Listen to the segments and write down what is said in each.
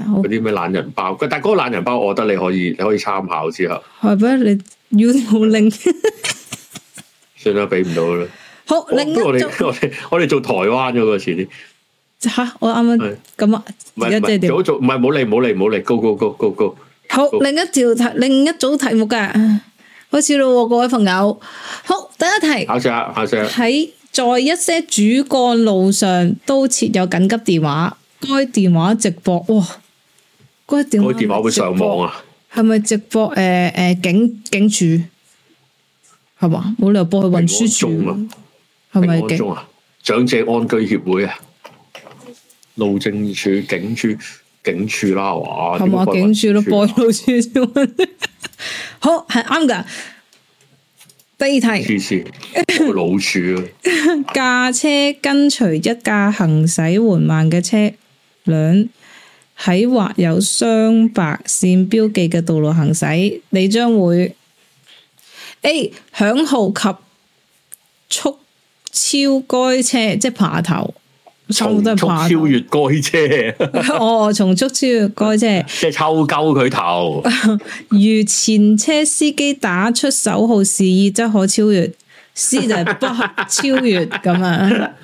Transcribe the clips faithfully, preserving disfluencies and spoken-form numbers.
嗰啲咩懶人包，但係嗰個懶人包，我覺得你可以你可以參考之後。 係咩？你要冇拎？ 算啦，俾唔到啦。 好，另一我哋我哋我哋做台灣嗰個遲啲。 吓，我啱啱咁啊，而家即係點？ 做做唔係，冇嚟冇嚟冇嚟，go go go go go。 好，另一條題，另一組題目噶，開始咯，各位朋友。好，第一題。 考試下，考試下。 喺在一些主幹路上都設有緊急電話，該電話直播哇，該電話該電話會上網啊？ 係咪直播？誒、呃、誒、呃，警警署係嘛？冇理由播去運輸署啊？係咪警啊？ 長者安居協會啊？路政署、警署、警署啦，哇！ 係嘛？警署咯，播路署先。好，係啱噶。第二題， 黐線，老鼠啊！ 駕車跟隨一架行駛緩慢嘅車輛喺畫有雙白線標記嘅道路行駛，你將會 A 響號及速超該車，即係爬頭。 從速超越該車， 哦，從速超越該車， 即係抽鳩佢頭。 如前車司機打出手號示意，則可超越。C 就係不可超越咁啊。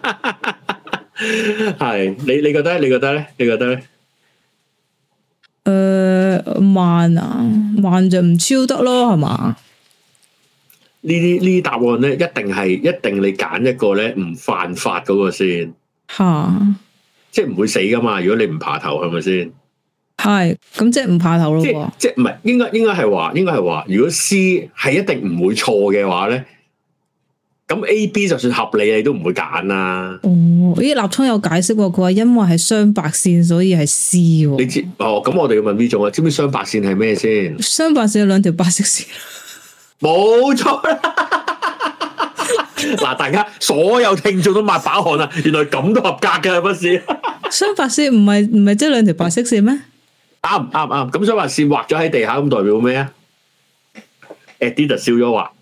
係你你覺得？你覺得咧？你覺得咧？ 誒、呃，慢啊，慢就唔超得咯，係嘛？ 呢啲呢啲答案咧，一定係一定你揀一個咧唔犯法嗰個先。 吓， 即係唔會死噶嘛？如果你唔爬頭，係咪先？ 係，咁即係唔爬頭咯。 即係即係唔係？應該應該係話，應該係話，如果 C 係一定唔會錯嘅話咧，咁 A、B 就算合理，你都唔會揀啦。 哦，咦，立聰有解釋過，佢話因為係雙白線，所以係 C。你知哦？咁我哋要問呢種啊？知唔知雙白線係咩先？ 雙白線有兩條白色線。 冇錯啦。嗱，大家所有聽眾都抹把汗啦，原來咁都合格嘅，不是？ 雙白線唔係唔係即係兩條白色線咩？ 啱啱啱，咁雙白線畫咗喺地下，咁代表咩啊 ？Adidas 笑咗話，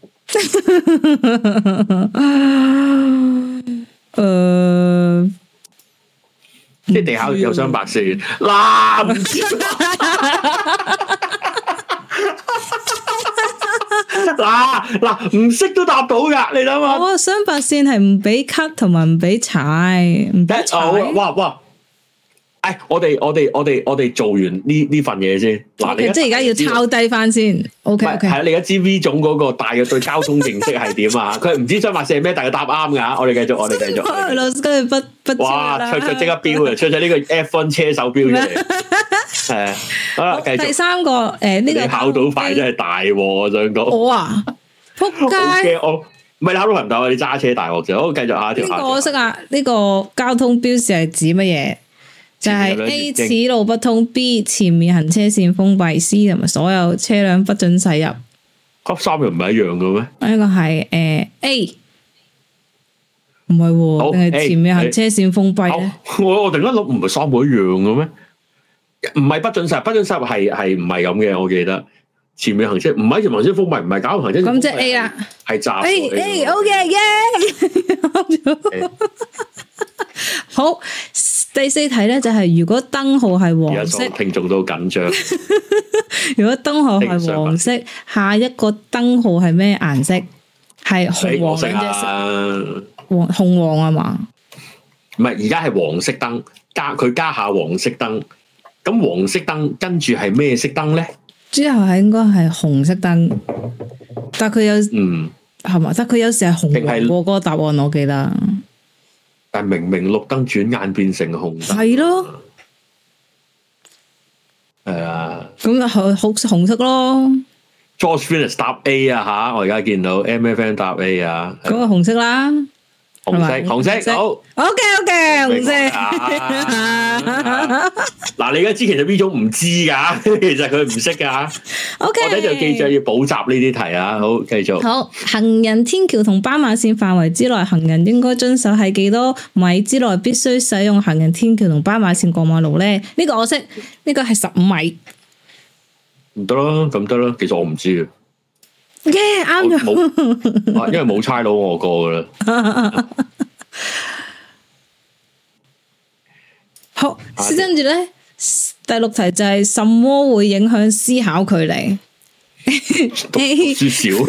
誒，即係地下有雙白線，嗱唔知。嗱嗱唔識都答到噶，你諗下。 我雙白線係唔俾 cut 同埋唔俾踩，唔俾踩。 哇哇！哎，我哋我哋我哋我哋做完呢呢份嘢先。嗱，你即係而家要抄低翻先。O K O K。係你而家知 V 總嗰個大約對交通認識係點啊？佢唔知雙白線係咩，但係答啱噶。我哋繼續，我哋繼續。 老師跟住不不。 哇！出出即刻標啊！出咗呢個 F 一 車手標嚟。係好啦，繼續。第三個誒，呢個你考到牌真係大鑊，我想講。 我啊，仆街！ 我唔係考到牌唔到，你揸車大鑊啫。好，繼續下條。 呢個我識啊，呢個交通標示係指乜嘢？就係 A 此路不通 ，B 前面行車線封閉 ，C 同埋所有車輛不准駛入。 級三又唔係一樣嘅咩？ 呢個係誒 A，唔係，定係前面行車線封閉咧？ 我我突然間諗，唔係三個一樣嘅咩？唔係不准駛，不准駛係係唔係咁嘅？我記得前面行車唔係前面行車封閉，唔係搞行車。咁即係 A 啦，係閘。A A OK 耶！好。第四題咧就係、是、如果燈號係黃色， 聽眾都緊張。 如果燈號係黃色，下一個燈號係咩顏色？係紅黃兩隻色，黃紅黃啊嘛？ 唔係，而家係黃色燈，加佢加下黃色燈。咁黃色燈跟住係咩色燈咧？ 之後係應該係紅色燈，但係佢有嗯係嘛？但係佢有時係紅黃過嗰個答案，我記得。 但明明綠燈轉眼變成紅燈， 係咯， 係啊， 咁就好好紅色咯。 George Venus 答 A 啊吓，我而家見到 M F N 答 A 啊， 嗰個紅色啦。 紅色，紅色，好 ，OK OK，紅色。 嗱，你而家知其實呢種唔知噶，其實佢唔識噶。OK，我哋就記住要補習呢啲題啊。好，繼續。好， 行人天橋同斑馬線範圍之內，行人應該遵守喺幾多米之內必須使用行人天橋同斑馬線過馬路咧？呢個我識，呢個係十五米。 唔得咯，咁得咯。其實我唔知啊。 耶，啱咗， 因為冇差佬我過噶啦。 好，跟住咧， 第六題就係什麼會影響思考距離？A 書少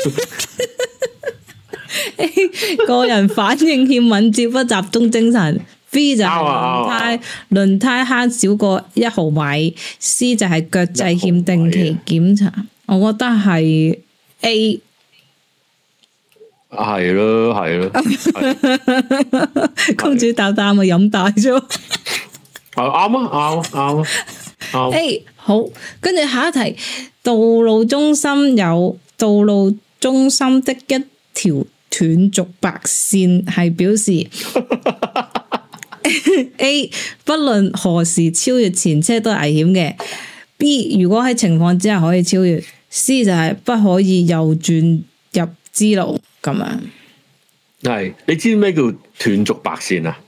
，A 個人反應欠敏捷，不集中精神。B 就係輪胎輪胎慳少過一毫米。C 就係腳掣欠定期檢查。我覺得係 A。 係咯，係咯。 公主答答咪飲大咗。 啱啊，啱啊，啱啊。 A 好，跟住下一題，道路中心有道路中心的一條斷續白線，係表示 A 不論何時超越前車都係危險嘅。B 如果喺情況之下可以超越。C 就係不可以右轉入支路咁樣。 係，你知咩叫斷續白線啊？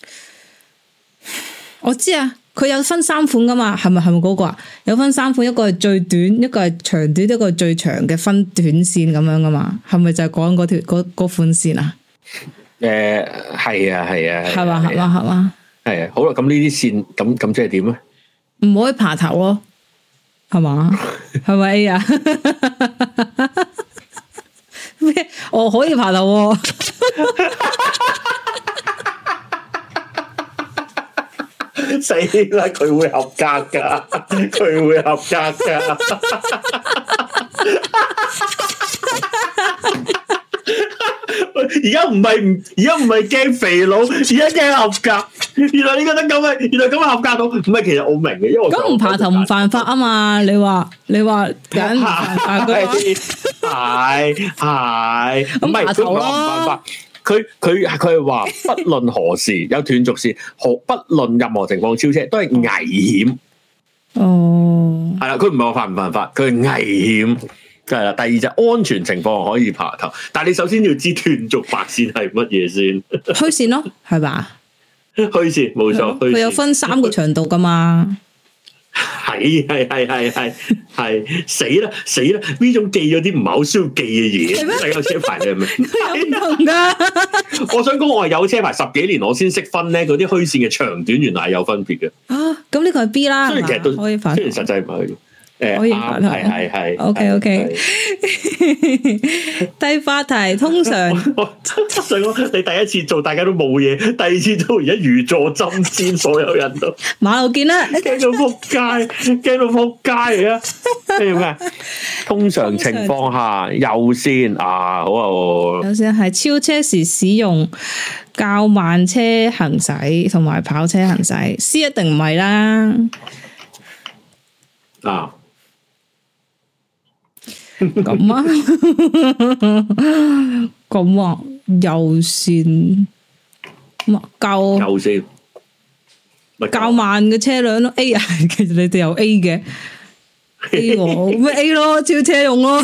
我知啊，佢有分三款噶嘛，係咪係咪嗰個啊？有分三款，一個係最短，一個係長短，一個係最長嘅分短線咁樣噶嘛？係咪就係講嗰條嗰嗰款線啊？ 誒、呃，係啊，係啊， 係嘛，係嘛，係嘛， 係啊。好啦，咁呢啲線咁咁即係點咧？ 唔可以爬頭咯，係嘛？係咪 A 啊？咩？我可以爬頭喎。 死啦！佢會合格噶，佢會合格噶。而家唔係唔，而家唔係驚肥佬，而家驚合格。原來你覺得咁啊？原來咁啊合格到？唔係，其實我明嘅，因為我咁唔爬頭唔犯法啊嘛？你話你話緊唔犯法嘅？ 係係，唔係佢唔話唔犯法。佢佢佢係話，不論何時有斷續線，何不論任何情況超車都係危險。 哦，係啦，佢唔係話犯唔犯法，佢係危險。係啦，第二就安全情況可以爬頭，但係你首先要知斷續白線係乜嘢先。 虛線咯，係嘛？ 虛線冇錯， 佢有分三個長度噶嘛。 係係係係係係死啦死啦！呢種記咗啲唔係好需要記嘅嘢，你有車牌你係咪？ 有唔同噶。 我想講我係有車牌十幾年，我先識分咧，嗰啲虛線嘅長短原來係有分別嘅。 啊，咁呢個係 B 啦， 雖然其實都可以反， 雖然實際唔係。誒， 可以發題， 係係係。 O K O K。第八題通常， 我想講你第一次做大家都冇嘢，第二次做而家如坐針氈，所有人都馬路見啦， 驚到撲街，驚到撲街嚟啊！咩咩？通常情況下右線啊，好啊， 右線係超車時使用較慢車行駛同埋跑車行駛 ，C 一定唔係啦。 啊！ 咁啊，咁啊，右線，較右線， 較慢嘅車輛咯 ，A 啊，其實你哋有 A 嘅 A 喎，咩 A 咯，超車用咯，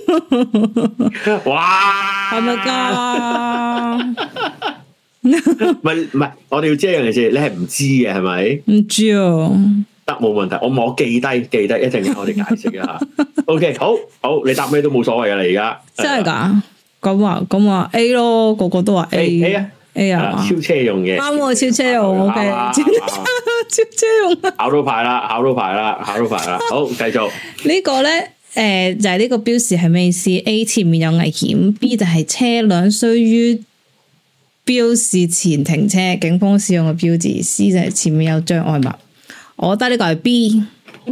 哇， 係咪噶？ 唔係唔係，我哋要知一樣嘢先，你係唔知嘅係咪？ 唔知啊。 得冇問題，我我記低記低，一陣間我哋解釋一下。O、okay, K， 好好，你答咩都冇所謂噶啦，而家真係噶，咁啊咁啊 A 咯，個個都話 A A 啊 A 啊， 超車用嘅， 啱喎，超車用 O K，超車用，考到牌啦，考到牌啦，考到牌啦，好，繼續。個呢個咧，誒、呃、就係、是、呢個標示係咩意思 ？A 前面有危險 ，B 就係車輛需於標示前停車，警方使用嘅標誌 ，C 就係前面有障礙物。我覺得呢個係 B，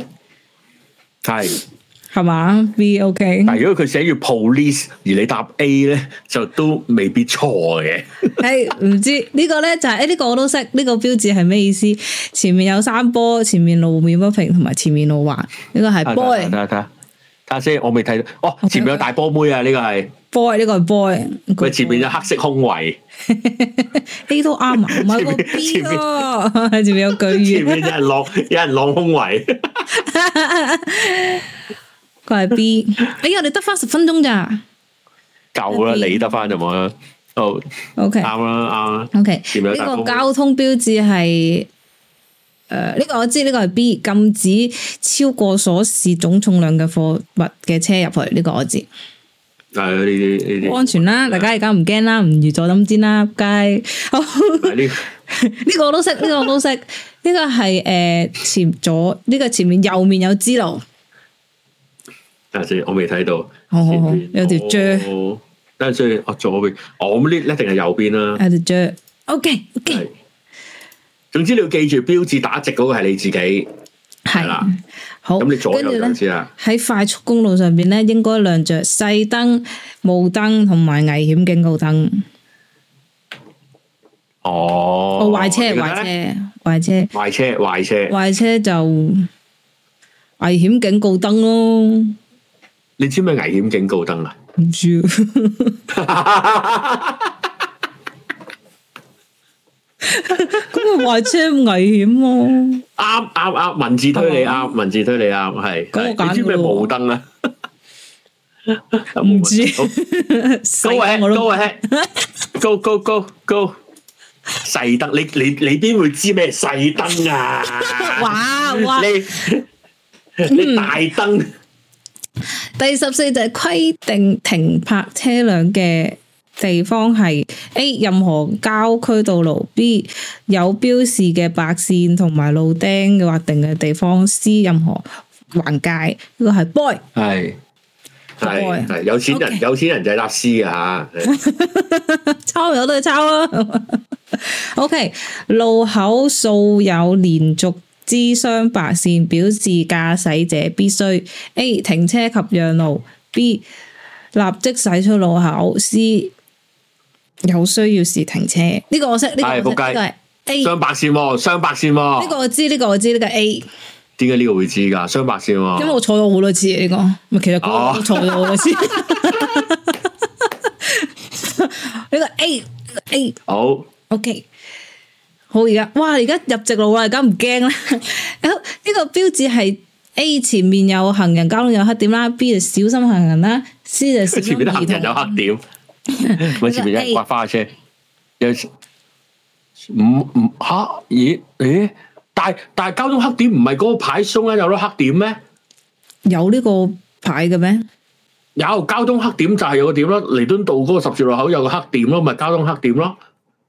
係係嘛 B OK。 但係如果佢寫住 police 而你答 A 咧，就都未必錯嘅。 係唔知呢個咧就係誒呢個我都識，呢個標誌係咩意思？前面有山坡，前面路面不平，同埋前面路橫。呢個係 boy。 睇下睇下睇下先，我未睇到。哦，前面有大波妹啊！呢個係 boy，呢個係 boy。 佢前面有黑色胸圍。 A 都啱啊，唔係個 B 咯。前面有句語， 前面有人晾，有人晾胸圍。 佢係 B。哎呀，我哋得翻十分鐘咋？ 夠啦，你得翻就冇啦。好 ，OK， 啱啦，啱啦。 OK，呢個交通標誌係誒，呢個我知，呢個係 B， 禁止超過所示總重量嘅貨物嘅車入去。呢個我知。 係呢啲呢啲安全啦，大家而家唔驚啦，唔如坐針氈啦，街。呢呢個我都識，呢、這個我都識。呢、這個係誒、呃、前左，呢、這個前面右面有支路。 等陣先，我未睇到。 好好好，有條啫。 等陣先，我左邊，我咁呢一定係右邊啦。 有條啫。OK OK。 總之你要記住，標誌打直嗰個係你自己。係啦。好。咁你左右就知啦。喺快速公路上邊咧，應該亮着細燈、霧燈同埋危險警告燈。 哦。 哦，壞車，壞車，壞車。 壞車，壞車。 壞車就危險警告燈咯。 你知咩危險警告燈啊？ 唔知。咁咪壞車危險咯？ 啱啱啱，文字推理啱，文字推理啱，係。你知咩霧燈啊？ 唔知。 Go ahead，Go ahead，Go Go Go Go。細燈，你你你邊會知咩細燈啊？ 哇哇！ 你你大燈。 第十四就係規定停泊車輛嘅地方係 A 任何郊區道路 ，B 有標示嘅白線同埋路釘嘅劃定嘅地方 ，C 任何橫界。呢個係 boy， 係係係有錢人， okay. 有錢人就係搭 C 啊吓， 抄有都係抄啊。OK， 路口掃有連續支雙白線，表示駕駛者必須 A 停車及讓路 ，B 立即駛出路口 ，C 有需要時停車。呢、這個我識，呢、這個我識，呢個係 A 雙白線，雙白線。呢個我知，呢、這個我知，呢、這個 A。 點解呢個會知噶？雙白線。 因為我坐咗好多次呢、這個，咪其實我都坐咗好多次。呢個 A， A 好。 OK。好，而家哇！而家入直路啦，而家唔驚啦。呢個標誌係 A 前面有行人，交通有黑點啦。B 就小心行人啦。C 就前面啲行人有黑點。 咪前面有刮花車，有唔唔吓？咦誒？但係但係交通黑點唔係嗰個牌鬆咧，有咗黑點咩？ 有呢個牌嘅咩？ 有交通黑點就係有個點咯，彌敦道嗰個十字路口有個黑點咯，咪交通黑點咯。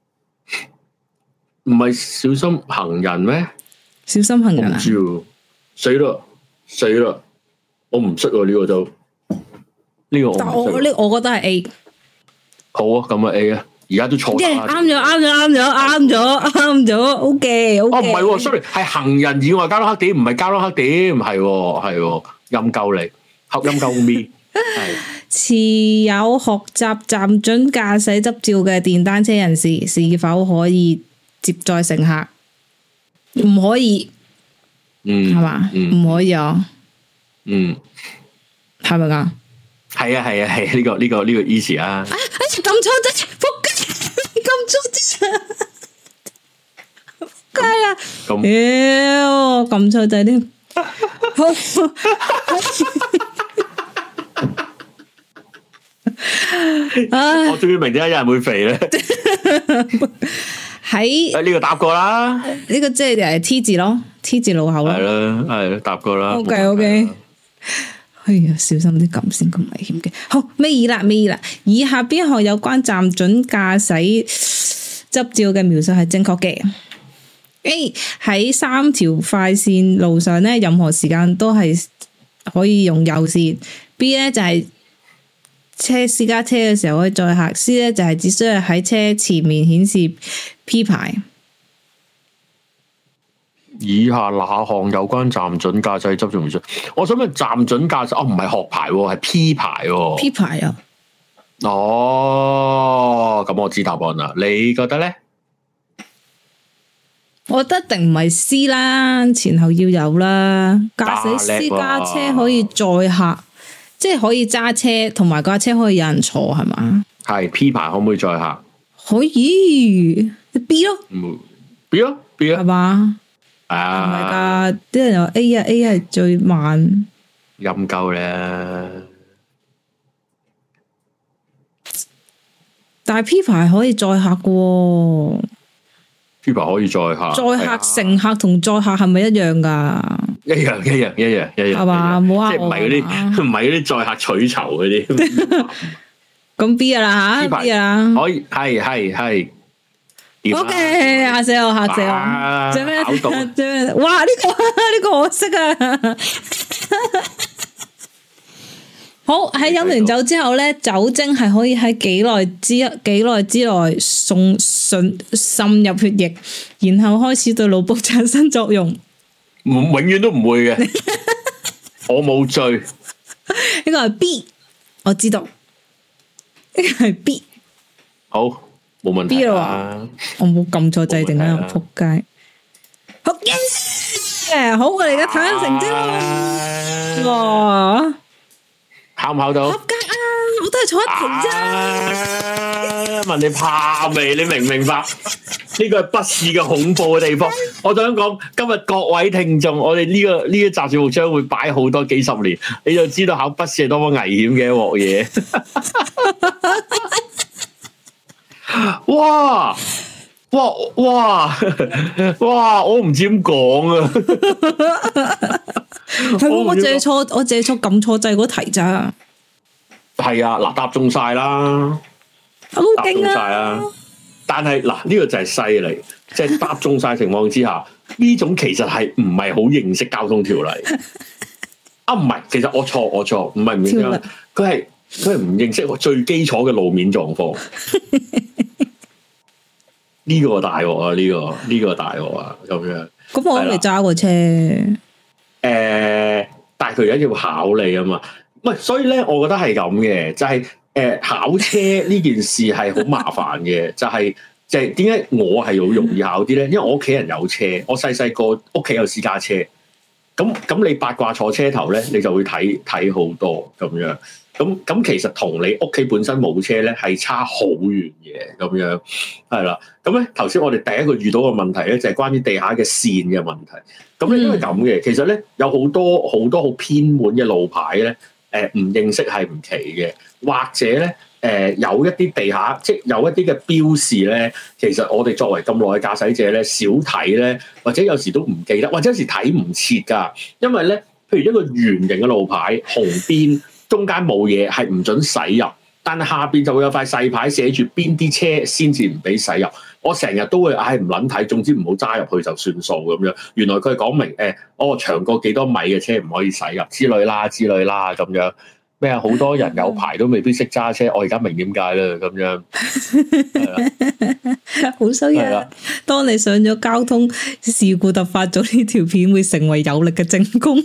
唔係小心行人咩？ 小心行人啊！ 唔知喎，死啦死啦！我唔識喎呢個就呢個我。但我呢， 我覺得係 A。 好啊，咁啊 A 啊，而家都錯啦。啱咗啱咗啱咗啱咗啱咗 ，OK OK。 哦唔係，sorry，係行人以外交通黑點，唔係交通黑點，係係陰鳩你，合陰鳩咪。係持有學習暫准駕駛執照嘅電單車人士，是否可以接載乘客？唔可以，嗯，係嘛？唔可以啊，嗯，係咪噶？ 係啊，係啊，係呢個呢個呢個 easy 啊！哎， 撳錯掣，仆街，撳錯掣，仆街啊！妖，撳錯掣添， 我終於明點解有人會肥咧。喺誒呢個答過啦， 呢個即係誒 T 字咯 ，T 字路口咯， 係啦係啦，答過啦。 OK OK，哎呀，小心啲撳先，咁危險嘅。好，尾二啦，尾二啦。以下邊項有關暫准駕駛執照嘅描述係正確嘅？A 喺三條快線路上咧，任何時間都係可以用右線。B 咧就係、是。車私家車嘅時候可以載客 ，C 咧就係只需要喺車前面顯示 P 牌。 以下哪項有關暫准駕駛執照描述？我想問暫准駕駛，哦唔係學牌，係 P 牌。 P 牌啊？ 哦，咁我知答案啦。你覺得咧？ 我覺得一定唔係 C 啦，前後要有啦。駕駛私家車可以載客。即係可以揸車，同埋架車可以有人坐，係嘛？ 係 P 牌可唔可以載客？ 可以 B 咯 ，B 咯 B 咯， 係嘛？ 啊， 唔係噶，啲人話 A 啊 A 係最慢， 陰鳩咧。 但係 P 牌可以載客嘅 ，P 牌可以載客， 載客乘客同載客係咪一樣噶？ 一樣一樣一樣一樣係嘛？冇呃我， 即係唔係嗰啲唔係嗰啲載客取酬嗰啲。 咁 B 啊啦吓 ，B 啊， 可以係係係 O K， 嚇死我，嚇死我！做咩？做咩？哇！呢個呢個我識啊！好，喺飲完酒之後咧，酒精係可以喺幾耐之幾耐之內送滲滲入血液，然後開始對腦部產生作用。 永遠都唔會嘅，我冇醉。呢個係 B， 我知道。呢個係 B。 好，冇問題啦。 我冇撳錯掣定啊！仆街。好嘅，好，我哋而家睇下成績咯。哇！ 考唔考到？ 合格啊！我都係坐一題啫。 啊、問你怕未？你明唔明白？呢個係筆試嘅恐怖嘅地方。我想講，今日各位聽眾，我哋呢、這個呢一集節目將會擺好多幾十年，你就知道考筆試係多麼危險嘅一鑊嘢。哇！哇哇哇！我唔知點講啊。 係我借錯，我借錯撳錯掣嗰題咋？ 係啊，嗱，答中晒啦， 好勁啊！答中晒啦， 但係嗱，呢個就係犀利，即係答中晒情況之下，呢種其實係唔係好認識交通條例啊？唔係，其實我錯，我錯，唔係唔認識，佢係佢係唔認識最基礎嘅路面狀況。呢個大鑊啊！呢個呢個大鑊啊！咁樣， 咁我未揸過車。 誒、呃，但係佢而家要考你啊嘛，唔係，所以咧，我覺得係咁嘅，就係、是、誒、呃、考車呢件事係好麻煩嘅，就係就係點解我係好容易考啲咧？因為我屋企人有車，我細細個屋企有私家車，咁咁你八卦坐車頭咧，你就會睇睇好多咁樣，咁咁其實同你屋企本身冇車咧係差好遠嘅，咁樣係啦。咁咧頭先我哋第一個遇到嘅問題咧就係關於地下嘅線嘅問題。咁咧因為咁嘅，其實咧有好多好多好偏門嘅路牌咧，誒、呃、唔認識係唔奇嘅，或者咧誒、呃、有一啲地下即係有一啲嘅標示咧，其實我哋作為咁耐嘅駕駛者咧，少睇咧，或者有時都唔記得，或者有時睇唔切㗎，因為咧，譬如一個圓形嘅路牌，紅邊中間冇嘢係唔準駛入，但係下邊就會有塊細牌寫住邊啲車先至唔俾駛入。我成日都會唉唔撚睇，總之唔好揸入去就算數咁樣。原來佢係講明誒、欸，哦長過幾多米嘅車唔可以駛入之類啦，之類啦咁樣。咩啊？好多人有牌都未必識揸車，我而家明點解啦咁樣。 好衰啊！當你上咗交通事故突發咗呢條片，會成為有力嘅證供。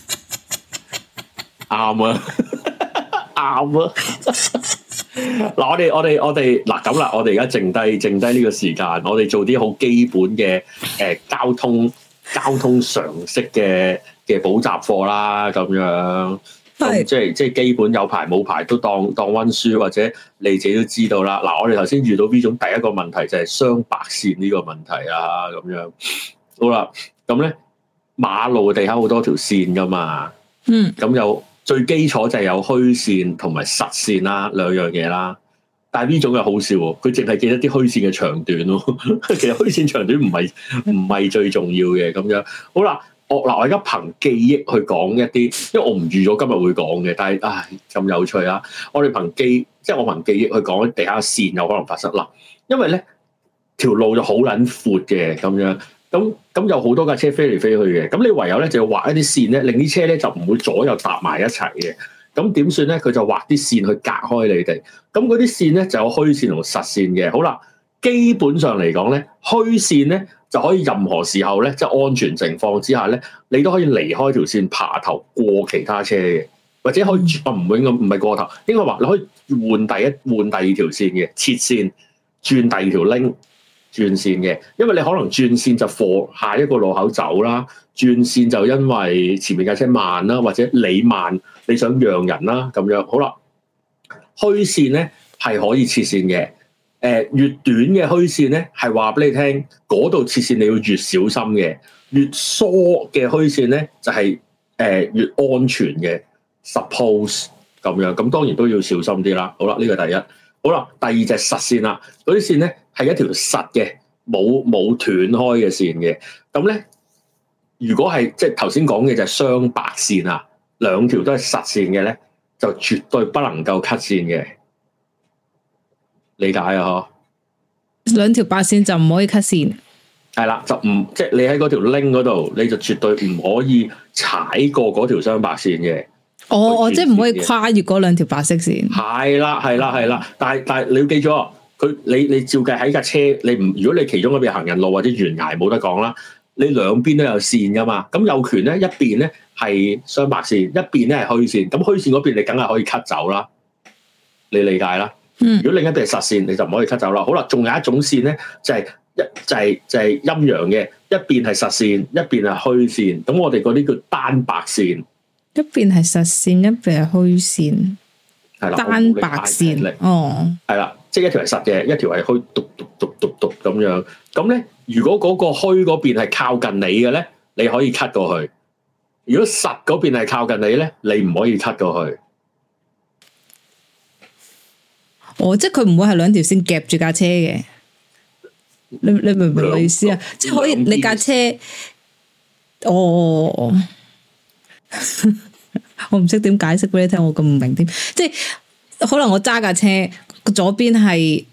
啱啊！啱啊！嗱，我哋我哋我哋嗱咁啦，我哋而家剩低剩低呢個時間，我哋做啲好基本嘅誒、呃、交通交通常識嘅嘅補習課啦，咁樣咁即係即係基本有牌冇牌都當當溫書，或者你自己都知道啦。嗱，我哋頭先遇到呢種第一個問題就係雙白線呢個問題啦，咁樣好啦，咁咧馬路地下好多條線噶嘛，嗯，咁有。最基礎就係有虛線同埋實線啦，兩樣嘢啦。但係呢種又好笑喎，佢淨係記得啲虛線嘅長短咯。其實虛線長短唔係唔係最重要嘅咁樣。好啦，我嗱我而家憑記憶去講一啲，因為我唔預咗今日會講嘅，但係唉咁有趣啊！我哋憑記即係我憑記憶去講地下線有可能發生啦。因為咧條路就好撚闊嘅咁樣。咁咁有好多架車飛嚟飛去嘅，咁你唯有咧就要畫一啲線咧，令啲車咧就唔會左右搭埋一齊嘅。咁點算咧？佢就畫啲線去隔開你哋。咁嗰啲線咧就有虛線同實線嘅。好啦，基本上嚟講咧，虛線咧就可以任何時候咧，即係安全情況之下咧，你都可以離開條線爬頭過其他車嘅，或者可以啊唔會咁唔係過頭，應該話你可以換第一換第二條線嘅切線，轉第二條 link。轉線嘅，因為你可能轉線就過下一個路口走啦，轉線就因為前面架車慢啦，或者你慢你想讓人啦咁樣。好啦，虛線咧係可以切線嘅，誒、呃、越短嘅虛線咧係話俾你聽，嗰度切線你要越小心嘅，越疏嘅虛線咧就係、是、誒、呃、越安全嘅。Suppose 咁樣，咁當然都要小心啲啦。好啦，呢、這個第一。好啦，第二隻實線啦，嗰啲線咧係一條實嘅，冇冇斷開嘅線嘅。咁咧，如果係即係頭先講嘅就係雙白線啊，兩條都係實線嘅咧，就絕對不能夠 cut 線嘅。理解啊？嗬， 兩條白線就唔可以 cut 線。 係啦，就唔即係你喺嗰條 link 嗰度，你就絕對唔可以踩過嗰條雙白線嘅。 哦哦，即係唔可以跨越嗰兩條白色線。係啦，係啦，係啦，但係但係你要記住，佢你你照計喺架車，你唔如果你其中一邊行人路或者懸崖冇得講啦，你兩邊都有線噶嘛。咁右權咧一邊咧係雙白線，一邊咧係虛線。咁虛線嗰邊你梗係可以 cut 走啦，你理解啦。嗯。如果另一邊係實線，你就唔可以 cut 走啦。好啦，仲有一種線咧，就係、是、一就係、是、就係、是、陰陽嘅，一邊係實線，一邊係虛線。咁我哋嗰啲叫單白線。 一邊係實線，一邊係虛線，係啦，單白線，哦，係啦，即係一條係實嘅，一條係虛，嘟嘟嘟嘟嘟咁樣。咁咧，如果嗰個虛嗰邊係靠近你嘅咧，你可以 cut 過去；如果實嗰邊係靠近你咧，你唔可以 cut 過去。 哦，即係佢唔會係兩條線夾住架車嘅。你你明唔明我意思啊？即係可以你架車，哦。我唔識點解釋俾你聽，我咁唔明添。即係可能我揸架車，左邊係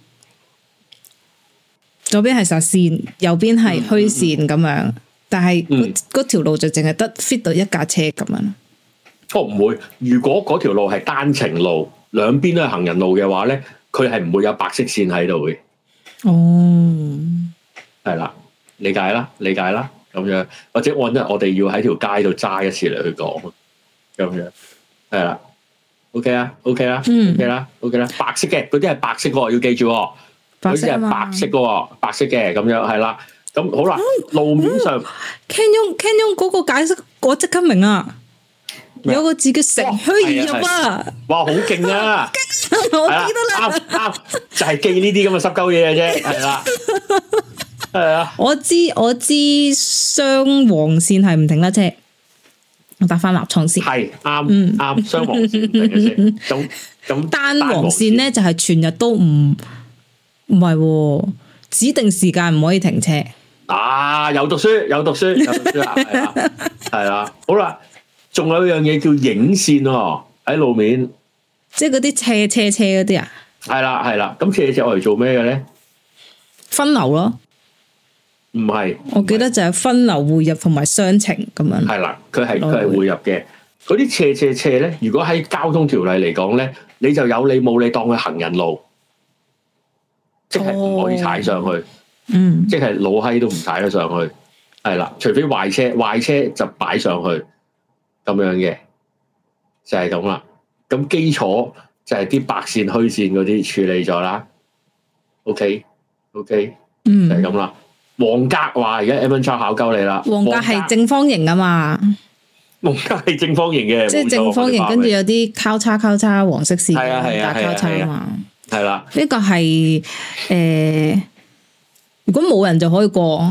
左邊係實線，右邊係虛線咁樣，嗯、但係嗰條路就淨係得 fit 到一架車咁樣。 哦，唔會。如果嗰條路係單程路，兩邊都係行人路嘅話咧，佢係唔會有白色線喺度嘅。哦，係啦，理解啦，理解啦。咁樣，或者按一我哋要喺條街度揸一次嚟去講，咁樣係啦。OK 啦 ，OK 啦，OK 啦，OK 啦。白色嘅嗰啲係白色嘅，要記住。嗰啲係白色嘅，白色嘅咁樣係啦。咁好啦，路面上 Canyon Canyon 嗰個解釋我即刻明啊！有個字叫乘虛而入啊！ 哇，好勁啊！我記得啦，啱啱就係記呢啲咁嘅濕鳩嘢嘅啫，係啦。係啊，我知我知，雙黃線係唔停得車，我搭翻立創線係啱啱雙黃線嘅車，咁咁單黃線咧就係全日都唔唔係指定時間唔可以停車。 啊，有讀書有讀書有讀書啦，係啦係啦，好啦，仲有一樣嘢叫影線喎，喺路面， 即係嗰啲斜斜斜嗰啲啊， 係啦係啦，咁斜斜我嚟做咩嘅咧？ 分流咯。 唔係， 我記得就係分流匯入同埋雙程咁樣。 係啦，佢係佢係匯入嘅。嗰啲斜斜斜咧，如果喺交通條例嚟講咧，你就有理冇理當佢行人路，即係唔可以踩上去。嗯，即係老閪都唔踩得上去。係啦，除非壞車，壞車就擺上去咁樣嘅，就係咁啦。咁基礎就係啲白線虛線嗰啲處理咗啦。OK OK，嗯，就係咁啦。黃格話而家 Evan Chow 考鳩你啦， 黃格係正方形啊嘛， 黃格係正方形嘅， 即係正方形，跟住有啲交叉交叉黃色線， 係啊係啊交叉啊嘛， 係啦， 呢個係誒，如果冇人就可以過，我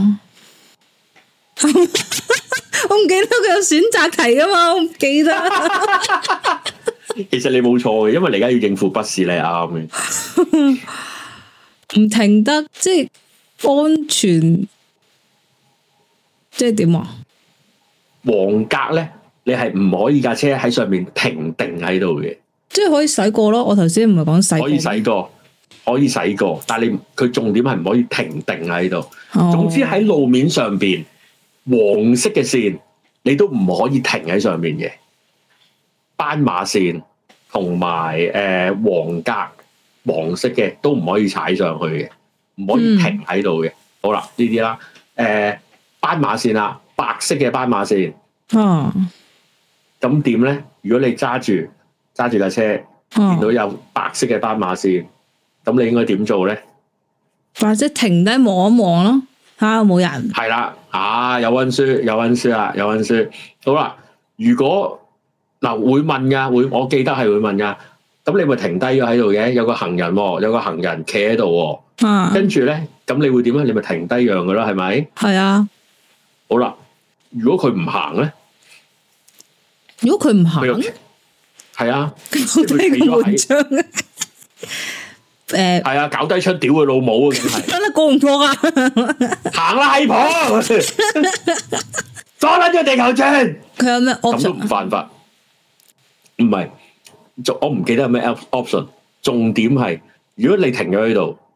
唔記得佢有選擇題噶嘛，我唔記得。 其實你冇錯嘅，因為你而家要應付筆試，你係啱嘅， 唔停得即係。安全即係點啊？ 黃格咧，你係唔可以架車喺上面停定喺度嘅， 即係可以駛過咯。我頭先唔係講駛過， 可以駛過，可以駛過，但係你佢重點係唔可以停定喺度。哦、總之喺路面上邊黃色嘅線，你都唔可以停喺上面嘅。斑馬線同埋誒黃格黃色嘅都唔可以踩上去嘅。唔可以停喺度嘅。好啦，呢啲啦，誒、呃，斑馬線啦，白色嘅斑馬線。哦。咁點咧？如果你揸住揸住架車，見到有白色嘅斑馬線，咁你應該點做咧？ 或者停低望一望咯，吓有冇人？ 係啦，啊，有溫書，有溫書啊，有溫書。好啦，如果嗱、呃、會問噶，會我記得係會問噶。咁你咪停低咗喺度嘅，有個行人，有個行人企喺度。啊，跟住咧，咁你會點咧？你咪停低讓噶啦，係咪？ 係啊。 好啦，如果佢唔行咧， 如果佢唔行， 係啊， 佢企咗喺，誒， 係啊，搞低槍屌佢老母啊！真係， 得啦，過唔過啊？ 行啦，閪婆，阻撚咗地球轉。 佢有咩 option？咁都唔犯法？唔係，我唔記得有咩 option。重點係，如果你停咗喺度。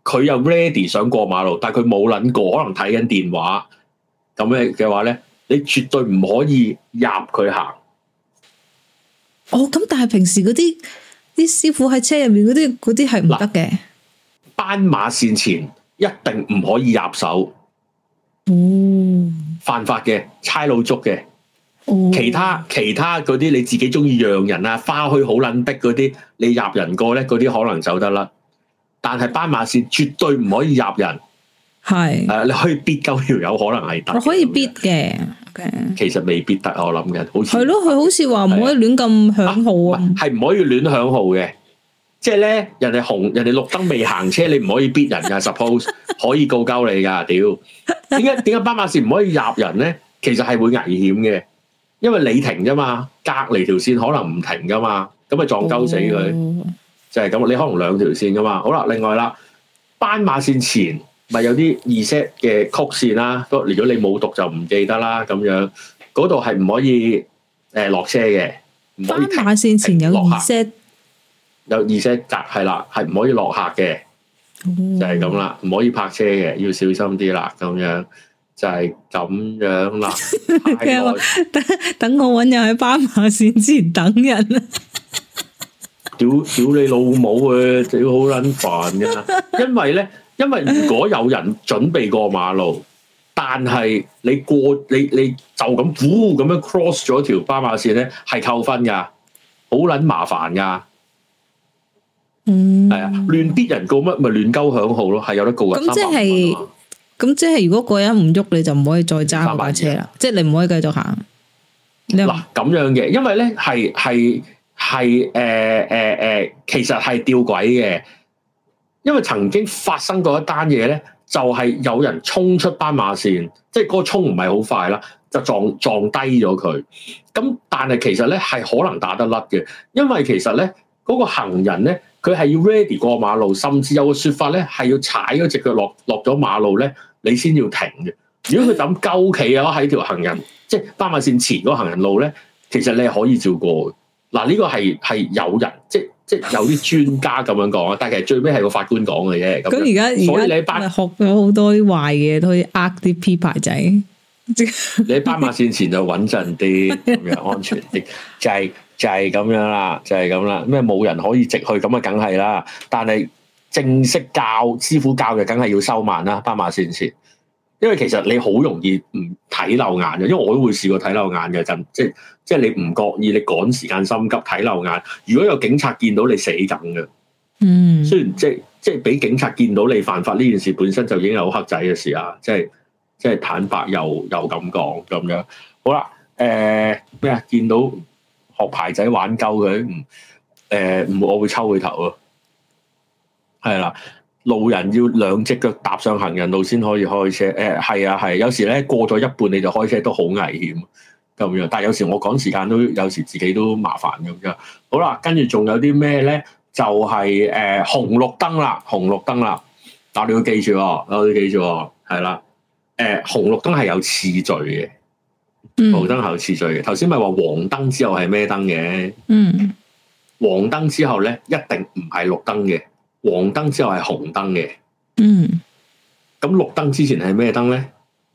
佢又 ready 想過馬路，但係佢冇諗過，可能睇緊電話咁嘅嘅話咧，你絕對唔可以入佢行。 哦，咁但係平時嗰啲啲師傅喺車入面嗰啲嗰啲係唔得嘅。 斑馬線前一定唔可以入手。 哦， 犯法嘅，差佬捉嘅。 哦， 其他其他嗰啲你自己中意讓人啊，花墟好撚逼嗰啲，你入人過咧，嗰啲可能走得甩。但係斑馬線絕對唔可以入人。 係。 誒、呃，你可以逼鳩條友，可能係得。 我可以逼嘅。 其實未必得，我諗嘅，好似係咯，佢好似話唔可以亂咁響號啊， 係唔可以亂響號嘅。即係咧，人哋紅，人哋綠燈未行車，你唔可以逼人噶。Suppose 可以告鳩你噶，屌！點解點解斑馬線唔可以入人咧？其實係會危險嘅，因為你停啫嘛，隔離條線可能唔停噶嘛，咁咪撞鳩死佢，哦、就係咁。你可能兩條線噶嘛。好啦，另外啦，斑馬線前咪有啲 reset 嘅曲線啦。如果你冇讀就唔記得啦，咁樣嗰度係唔可以誒落、呃、車嘅。 斑馬線前有 reset。 有 reset 格係啦，係唔可以落客嘅，嗯、就係咁啦，唔可以泊車嘅，要小心啲啦，咁樣就係咁樣啦。 等等我搵人喺斑馬線前等人啊！ 屌屌你老母啊！屌好撚煩噶，因為咧，因為如果有人準備過馬路，但係你過你你就咁呼咁樣 cross 咗條斑馬線咧，係扣分噶，好撚麻煩噶。嗯，係啊，亂逼人告乜咪亂鳩響號咯，係有得告人。咁即係， 咁即係，如果個人唔喐，你就唔可以再揸嗰架車啦。即係你唔可以繼續行。 嗱咁樣嘅，因為咧係係係誒誒誒，其實係吊詭嘅。因為曾經發生過一單嘢咧，就係、是、有人衝出斑馬線，即係嗰個衝唔係好快啦，就撞撞低咗佢。咁但係其實咧係可能打得甩嘅，因為其實咧嗰、那個行人咧。佢係要 ready 過馬路，甚至有個說法咧，係要踩嗰隻腳落落咗馬路咧，你先要停嘅。如果佢咁鳩企啊，喺條行人即係斑馬線前嗰個行人路咧，其實你係可以照過嘅。嗱，呢個係係有人即即有啲專家咁樣講啊，但係其實最尾係個法官講嘅啫。咁而家所以你喺斑學咗好多啲壞嘢，都可以呃啲 P 牌仔。 你喺斑馬線前就穩陣啲，咁樣安全啲，就係、是。就係咁樣啦，就係咁啦。咩冇人可以直去咁啊？梗係啦。但係正式教師傅教嘅，梗係要收慢啦。斑馬線前，因為其實你好容易唔睇漏眼嘅，因為我都會試過睇漏眼嘅，就即係即係你唔覺意，你趕時間心急睇漏眼。如果有警察見到你死梗嘅，嗯，雖然即係即係俾警察見到你犯法呢件事本身就已經有黑仔嘅事啊，即係即係坦白又又咁講咁樣。好啦，誒咩啊？見到。學牌仔玩鳩佢，唔誒唔，我會抽佢頭咯。係啦，路人要兩隻腳踏上行人路先可以開車。誒、呃、係啊係，有時咧過咗一半你就開車都好危險咁樣。但係有時我趕時間都有時自己都麻煩咁樣。好啦，跟住仲有啲咩咧？就係、是、誒、呃、紅綠燈啦，紅綠燈啦。嗱，你要記住，你要記住，係啦。誒、呃、紅綠燈係有次序嘅。紅燈後次序嘅，頭先咪話黃燈之後係咩燈嘅？嗯，黃燈之後咧一定唔係綠燈嘅，黃燈之後係紅燈嘅。嗯，咁綠燈之前係咩燈咧？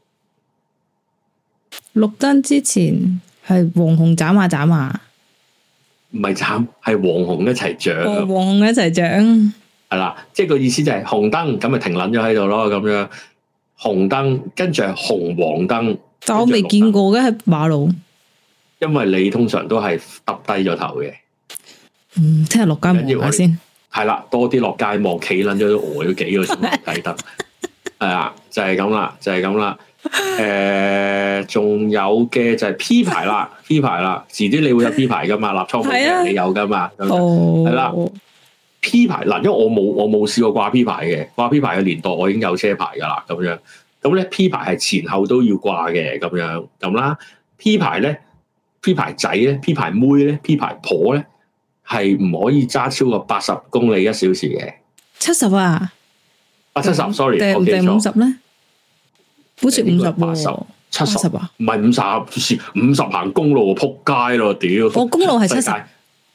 綠燈之前係黃紅斬下斬下， 唔係斬，係黃紅一齊着。 黃紅一齊着， 係啦，即係個意思就係紅燈咁咪停撚咗喺度咯，咁樣紅燈跟住係紅黃燈。 但我未見過嘅喺馬路， 因為你通常都係耷低咗頭嘅。 嗯，聽日落街望下先。係啦，多啲落街望，企撚咗都呆咗幾個先睇得。係啊，就係咁啦，就係咁啦。誒、呃，仲有嘅就係 P 牌啦，P 牌啦，遲啲你會有 P 牌噶嘛？立倉嘅、啊、你有噶嘛？哦，係啦。P 牌嗱，因為我冇我冇試過掛 P 牌嘅，掛 P 牌嘅年代我已經有車牌噶啦，咁樣。咁咧 P 牌係前後都要掛嘅，咁樣咁啦。P 牌咧 ，P 牌仔咧 ，P 牌妹咧 ，P 牌婆咧，係唔可以揸超過八十公里一小時嘅。七十啊？啊七十 ，sorry， 定定五十咧？好似五十八十， 七十啊？唔係五十，五十行公路撲街咯，屌！ 我公路係七十。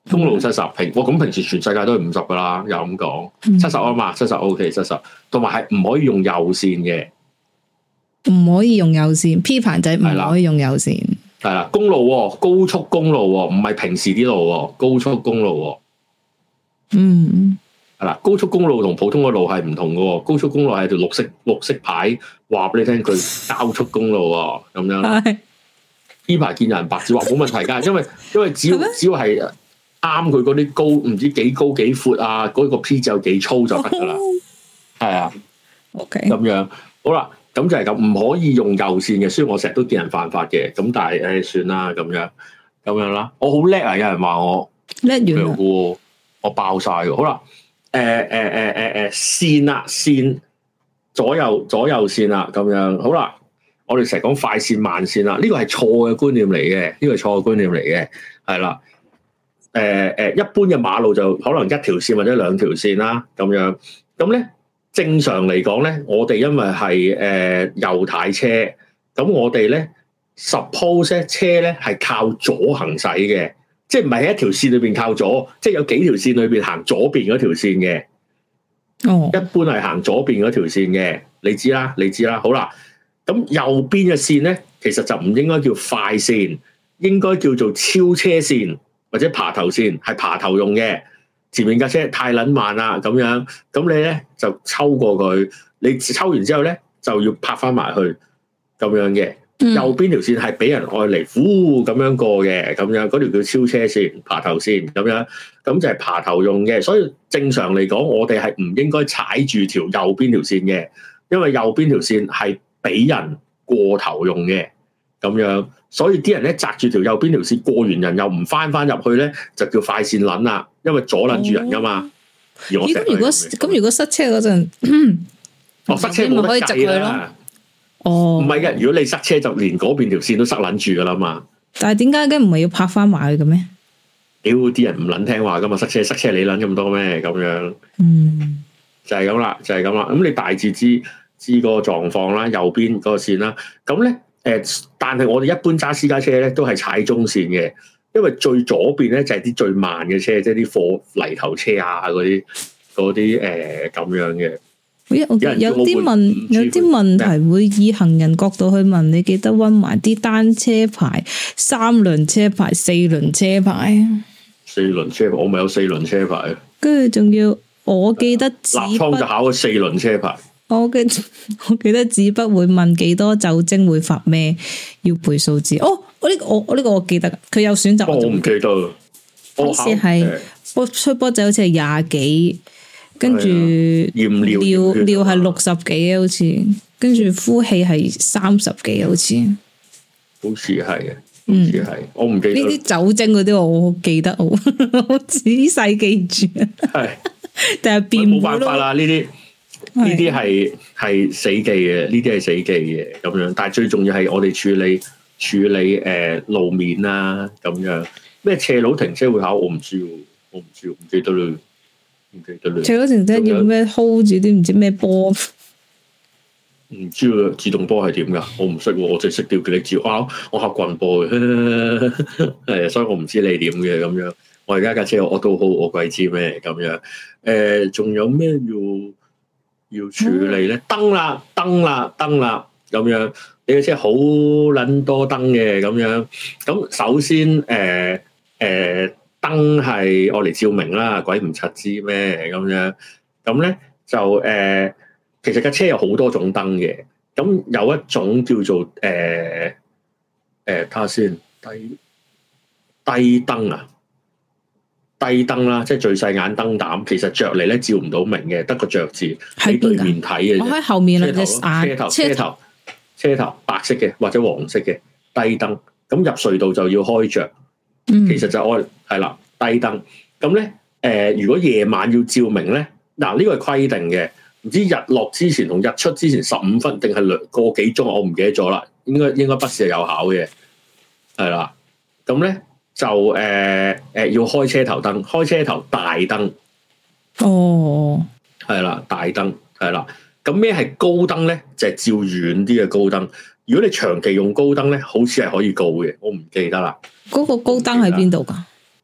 公路七十平，哇！咁平時全世界都係五十噶啦，又咁講，七十啊嘛，七十 O K，七十，同埋係唔可以用右線嘅， 唔可以用右線 P 牌仔唔可以用右線， 係啦，公路高速公路唔係平時啲路，高速公路， 嗯，係啦，高速公路同普通嘅路係唔同嘅，高速公路係條綠色綠色牌話俾你聽，佢高速公路咁樣。P 牌見人白紙話冇問題噶，因為因為只要只要係啱佢嗰啲高唔知幾高幾闊啊，嗰、嗰個 P 就幾粗就得噶啦，係啊 ，OK， 咁樣好啦，咁就係咁，唔可以用右線嘅，雖然我成日都見人犯法嘅，咁但係誒、哎、算啦，咁樣咁樣啦，我好叻啊，有人話我叻完喎，我爆晒嘅，好啦，誒誒誒誒誒線啦線左右左右線啦，咁樣好啦。我哋成日講快線慢線啦，呢個係錯嘅觀念嚟嘅，呢個係錯嘅觀念嚟嘅，係啦。誒誒，一般嘅馬路就可能一條線或者兩條線啦，咁樣。咁咧正常嚟講咧，我哋因為係誒右軚車，咁我哋咧 suppose 車咧係靠左行駛嘅，即係唔係喺一條線裏邊靠左，即係有幾條線裏邊行左邊嗰條線嘅。哦，一般係行左邊嗰條線嘅，你知啦，你知啦，好啦。咁右邊嘅線咧，其實就唔應該叫快線，應該叫做超車線或者爬頭線，係爬頭用嘅。前面架車太撚慢啦，咁樣，咁你咧就抽過佢，你抽完之後咧就要拍翻埋去，咁樣嘅。嗯、右邊條線係俾人愛嚟，呼咁樣過嘅，咁樣嗰條叫超車線、爬頭線，咁樣，咁就係爬頭用嘅。所以正常嚟講，我哋係唔應該踩住條右邊條線嘅，因為右邊條線係俾人過頭用嘅，咁樣，所以啲人咧擲住條右邊條線過完人又唔翻翻入去咧，就叫快線撚啦，因為阻撚住人噶嘛。咦、哦？咁如果咁如果塞車嗰陣， 哦塞車冇得計啦。哦，唔係嘅，如果你塞車就連嗰邊條線都塞撚住噶啦嘛。但係點解嘅唔係要拍翻埋去嘅咩？屌，啲人唔撚聽話噶嘛，塞車塞車你撚咁多咩？咁樣，嗯，就係咁啦，就係咁啦。咁你大致知。知個狀況啦，右邊嗰個線啦，咁咧誒，但係我哋一般揸私家車咧都係踩中線嘅，因為最左邊咧就係啲最慢嘅車，即係啲貨泥頭車啊嗰啲嗰啲誒咁樣嘅。 有啲問有啲問題會以行人角度去問你，記得溫埋啲單車牌、三輪車牌、四輪車牌。 四輪車牌，我咪有四輪車牌。 跟住仲要，我記得立倉就考咗四輪車牌。 我記我記得紙筆會問幾多酒精會發咩，要背數字。哦，我呢個我我呢個我記得，佢有選擇。 我唔記得。 好似係波吹波仔好似係廿幾，跟住尿尿尿係六十幾，好似跟住呼氣係三十幾，好似。 好似係嘅，好似係，我唔記得。呢啲酒精嗰啲我記得，我好仔細記住。係，但係變冇辦法啦，呢啲。呢啲係係死記嘅，呢啲係死記嘅咁樣。但係最重要係我哋處理處理誒、呃、路面啦，咁樣咩斜路停車會考，我唔知喎，我唔知，唔記得啦，唔記得啦。 斜路停車要咩 hold 住啲唔知咩波？ 唔知啊，自動波係點噶？我唔識，我淨係識吊佢哋照啊！我學棍波嘅，係啊，所以我唔知你點嘅咁樣。我而家架車我都好，我鬼知咩咁樣？誒、呃，仲有咩要？要處理咧，燈啦，燈啦，燈啦，咁樣你嘅車好撚多燈嘅咁樣。咁首先誒誒燈係我嚟照明啦，鬼唔柒知咩咁樣。咁咧就誒、呃，其實架車有好多種燈嘅。咁有一種叫做誒誒，睇下先，低低燈啊。低燈啦，即係最細眼燈膽，其實着嚟咧照唔到明嘅，得個着字喺對面睇嘅。我喺後面啊，車頭車頭車頭車頭白色嘅或者黃色嘅低燈，咁入隧道就要開着。嗯、其實就愛係啦，低燈。咁咧誒，如果夜晚要照明咧，嗱、這、呢個係規定嘅，唔知日落之前同日出之前十五分定係兩個幾鐘，我唔記得咗啦。應該應該筆試係有考嘅，係啦。咁咧。就誒誒、呃呃、要開車頭燈，開車頭大燈。哦，係啦，大燈係啦。咁咩係高燈咧？就係、是、照遠啲嘅高燈。如果你長期用高燈咧，好似係可以告嘅，我唔記得啦。 嗰個高燈喺邊度噶？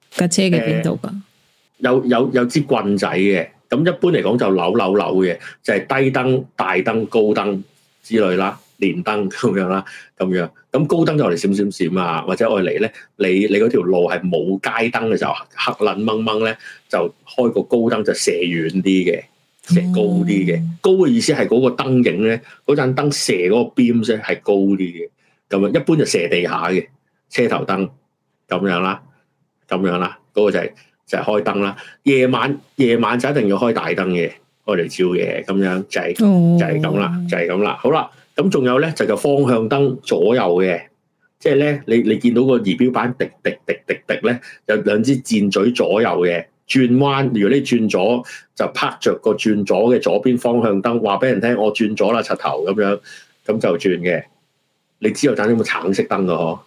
架車嘅邊度噶？ 有有有支棍仔嘅，咁一般嚟講就扭扭扭嘅，就係、是、低燈、大燈、高燈之類啦，連燈咁樣啦，咁樣。咁高燈就嚟閃閃閃啊，或者我嚟咧，你你嗰條路係冇街燈嘅時候，黑撚掹掹咧，就開個高燈就射遠啲嘅，射高啲嘅。嗯、高嘅意思係嗰個燈影咧，嗰盞燈射嗰個 beam 啫係高啲嘅。咁樣一般就射地下嘅車頭燈咁樣啦，咁樣啦，嗰、嗰個就係、是、就係、是、開燈啦。夜晚夜晚就一定要開大燈嘅，開嚟照嘢咁樣就係、是、就係咁啦，就係咁啦。好啦。咁仲有咧就係方向燈左右嘅，即係咧你你見到個儀表板滴滴滴滴滴咧，有兩支箭嘴左右嘅轉彎。如果你轉左就拍着個轉左嘅左邊方向燈，話俾人聽我轉咗啦，柒頭咁樣，咁就轉嘅。你知道盞有冇橙色燈噶嗬？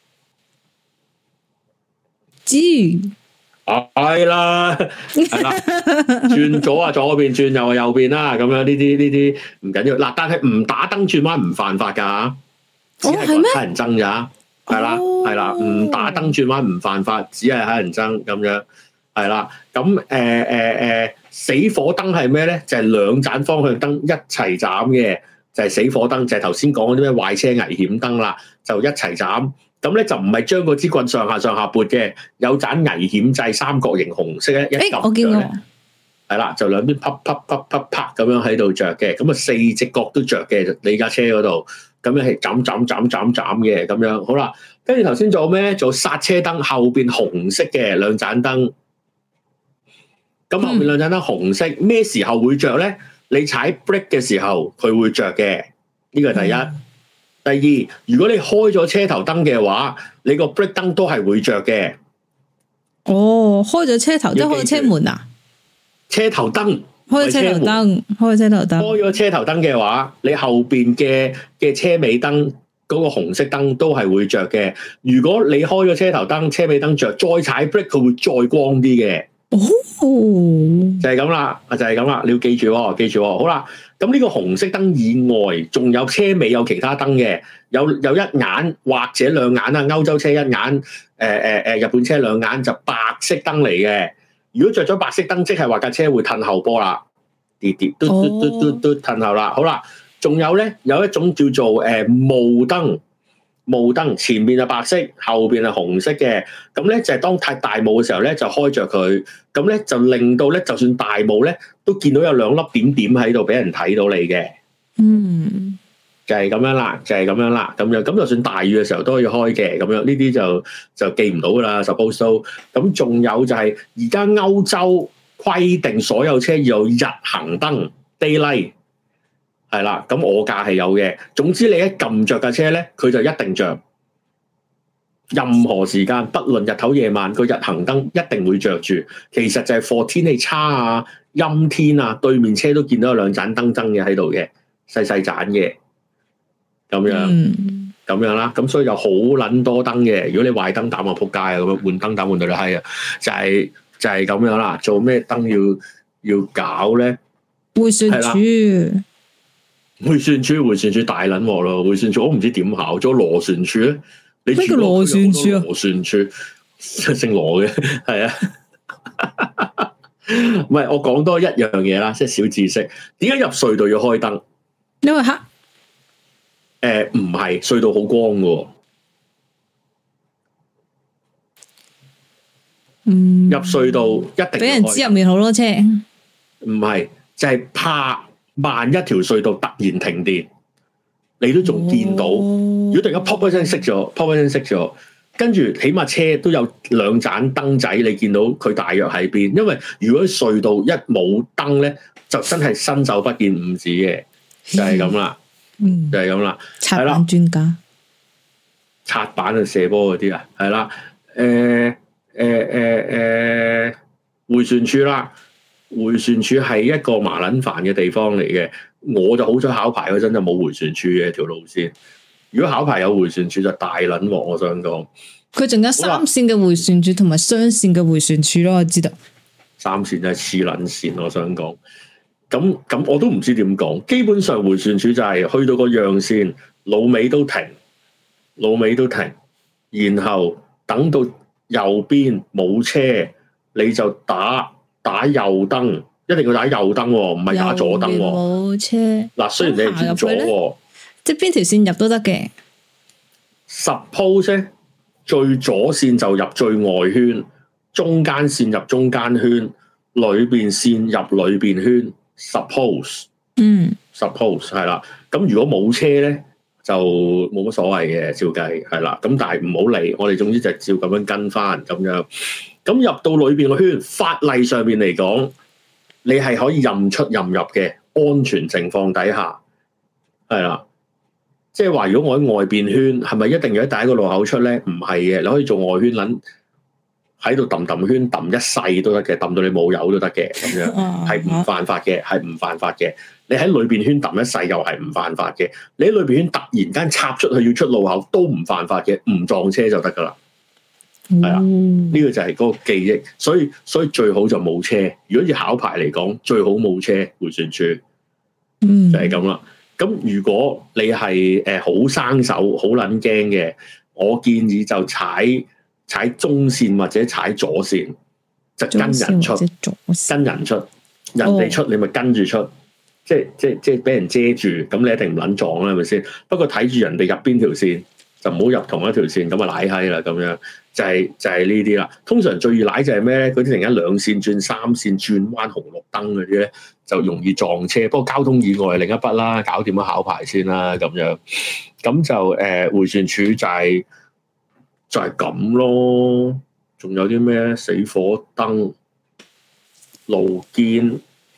知係啦，係啦，轉左啊左邊，轉右啊右邊啦，咁樣呢啲呢啲唔緊要。嗱，但係唔打燈轉彎唔犯法噶，只係乞人憎咋，係啦係啦，唔打燈轉彎唔犯法，只係乞人憎咁樣，係啦。咁誒誒誒，死火燈係咩咧？就係兩盞方向燈一齊斬嘅，就係、是、死火燈，就係頭先講嗰啲咩壞車危險燈啦，就一齊斬。咁咧就唔係將嗰支棍上下上下撥嘅，有盞危險掣三角形紅色咧一撳着咧，係啦，就兩邊啪啪啪啪啪咁樣喺度着嘅，咁啊四隻角都着嘅，你架車嗰度，咁樣係斬斬斬斬斬嘅咁樣，好啦，跟住頭先做咩？做剎車燈後邊紅色嘅兩盞燈，咁後邊兩盞燈紅色，咩、嗯、時候會着咧？你踩 brake 嘅時候佢會着嘅，呢個係第一。嗯第二，如果你開咗車頭燈嘅話，你個 brake 燈都係會着嘅。 哦，開咗車頭，即係開車門啊？ 車頭燈， 開咗車頭燈，開咗車頭燈。 開咗車頭燈嘅話，你後邊嘅嘅車尾燈嗰個紅色燈都係會着嘅。如果你開咗車頭燈，車尾燈着，再踩 brake，佢會再光啲嘅。哦，就係咁啦，就係咁啦，你要記住喎，記住喎。好啦。咁呢個紅色燈以外，仲有車尾有其他燈嘅，有有一眼或者兩眼啊，歐洲車一眼，誒誒誒，日本車兩眼就白色燈嚟嘅。如果着咗白色燈，即係話架車會褪後波啦，跌跌嘟嘟嘟嘟嘟褪後啦。好啦，仲有咧有一種叫做誒霧燈。霧燈前面係白色，後邊係紅色嘅，咁咧就係當太大霧嘅時候咧，就開着佢，咁咧就令到咧，就算大霧咧，都見到有兩粒點點喺度俾人睇到你嘅。嗯，就係咁樣啦，就係咁樣啦，咁樣咁就算大雨嘅時候都可以開嘅，咁樣呢啲就就記唔到噶啦 suppose so。咁仲有就係而家歐洲規定所有車要有日行燈 daylight。係啦，咁我架係有嘅。總之你一撳着架車咧，佢就一定着。任何時間，不論日頭夜晚，個日行燈一定會着住。其實就係 for 天氣差啊、陰天啊，對面車都見到有兩盞燈燈嘅喺度嘅，細細盞嘅，咁樣，咁、嗯、樣啦。咁所以有好撚多燈嘅。如果你壞燈膽啊，仆街啊，咁樣換燈膽換到你閪啊，就係、是、就係、是、咁樣啦。做咩燈要要搞咧？ 回旋處。 回旋處，回旋處大撚鑊咯！回旋處我唔知點考，做螺旋處咧？你咩叫螺旋處啊？ 螺旋處姓羅嘅，係啊。唔係，我講多一樣嘢啦，即係小知識。點解入隧道要開燈？ 因為黑。誒、 呃，唔係，隧道好光㗎。 嗯。 入隧道一定俾人知入面好多車。 唔係，就係、是、怕。萬一條隧道突然停電，你都仲見到。哦、如果突然間 pop 一聲熄咗 ，pop 一聲熄咗，跟住起碼車都有兩盞燈仔，你見到佢大約喺邊。因為如果隧道一冇燈咧，就真係伸手不見五指嘅，就係咁啦。嗯，就係咁啦。 擦板專家， 擦板啊，射波嗰啲啊，係啦。誒誒誒誒，迴旋處啦。迴旋處係一個麻撚煩嘅地方嚟嘅，我就好彩考牌嗰陣就冇迴旋處嘅條路線。如果考牌有迴旋處就大撚鑊，我想講。 佢仲有三線嘅迴旋處同埋雙線嘅迴旋處咯，我知道。 三線就係黐撚線，我想講。咁咁我都唔知點講。基本上迴旋處就係去到個讓線，老尾都停，老尾都停，然後等到右邊冇車，你就打打右燈，一定要打右燈喎，唔係打左燈喎。 冇車。 嗱，雖然你係轉左喎， 即係邊條線入都得嘅。 Suppose 最左線就入最外圈，中間線入中間圈，裏邊線入裏邊圈。Suppose， 嗯 ，Suppose 係啦。咁如果冇車咧，就冇乜所謂嘅，照計係啦。咁但係唔好理，我哋總之就照咁樣跟翻咁樣。咁入到裏邊個圈，法例上面嚟講，你係可以任出任入嘅，安全情況底下係啦。即係話，如果我喺外邊圈，係咪一定要喺第一個路口出咧？唔係嘅，你可以做外圈撚喺度揼揼圈揼一世都得嘅，揼到你冇油都得嘅，咁樣係唔犯法嘅，係唔犯法嘅。你喺裏邊圈揼一世又係唔犯法嘅。你喺裏邊圈突然間插出去要出路口都唔犯法嘅，唔撞車就得噶啦。係啊，呢、這個就係嗰個記憶。所以所以最好就冇車。如果要考牌嚟講，最好冇車迴旋處，就係咁啦。咁如果你係誒好生手、好撚驚嘅，我建議就踩踩中線或者踩左線，就跟人出，跟人出，人哋出你咪跟住出，哦、即係即係即係俾人遮住，咁你一定唔撚撞啦，係咪先？不過睇住人哋入邊條線，就唔好入同一條線，咁啊舐閪啦，咁樣就係、是、就係呢啲啦。通常最易舐就係咩咧？嗰啲突然間兩線轉三線轉彎紅綠燈嗰啲咧，就容易撞車。不過交通意外係另一筆啦，搞掂咗考牌先啦，咁樣咁就誒迴旋處就係、是、就係、是、咁咯。仲有啲咩咧？死火燈、路肩，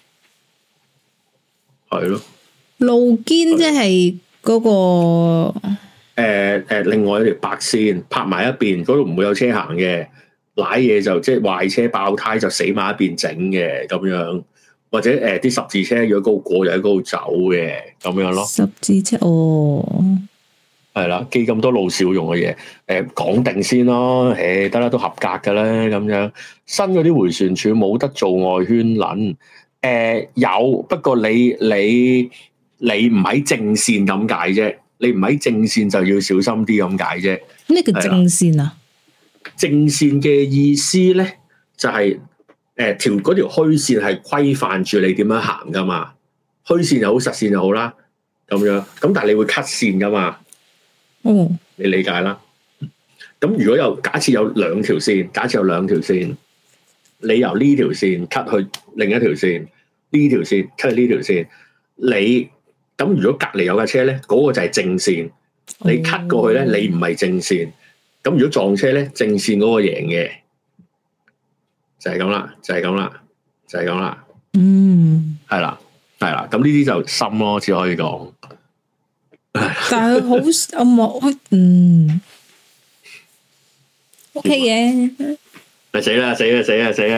係咯。 路肩即係嗰個。 誒誒、呃呃，另外一條白線拍埋一邊，嗰度唔會有車行嘅，瀨嘢就即係壞車爆胎就死埋一邊整嘅咁樣，或者誒啲、呃、十字車如果嗰度過就喺嗰度走嘅咁樣咯。十字車哦， 係啦，記咁多路少用嘅嘢，誒、呃、講定先咯，誒得啦，都合格噶啦咁樣。新嗰啲迴旋處冇得做外圈撚，誒、呃、有，不過你你你唔喺正線咁解啫。你唔喺正線就要小心啲咁解啫。 咩叫正線啊？ 正線嘅意思咧，就係誒條嗰條虛線係規範住你點樣行噶嘛。虛線又好，實線又好啦，咁樣。咁但係你會 cut 線噶嘛？哦，你理解啦。咁如果有假設有兩條線，假設有兩條線，你由呢條線 cut 去另一條線，呢條線 cut 去呢條線，你。咁如果隔離有架車咧，嗰、那個就係正線。你 cut 過去咧，你唔係正線。咁如果撞車咧，正線嗰個贏嘅，就係咁啦，就係咁啦，就係咁啦。嗯，係啦，係啦。咁呢啲就深咯，只可以講。 但係好我冇，嗯，OK 嘅。 咪死啦！死啦！死啦！死啦！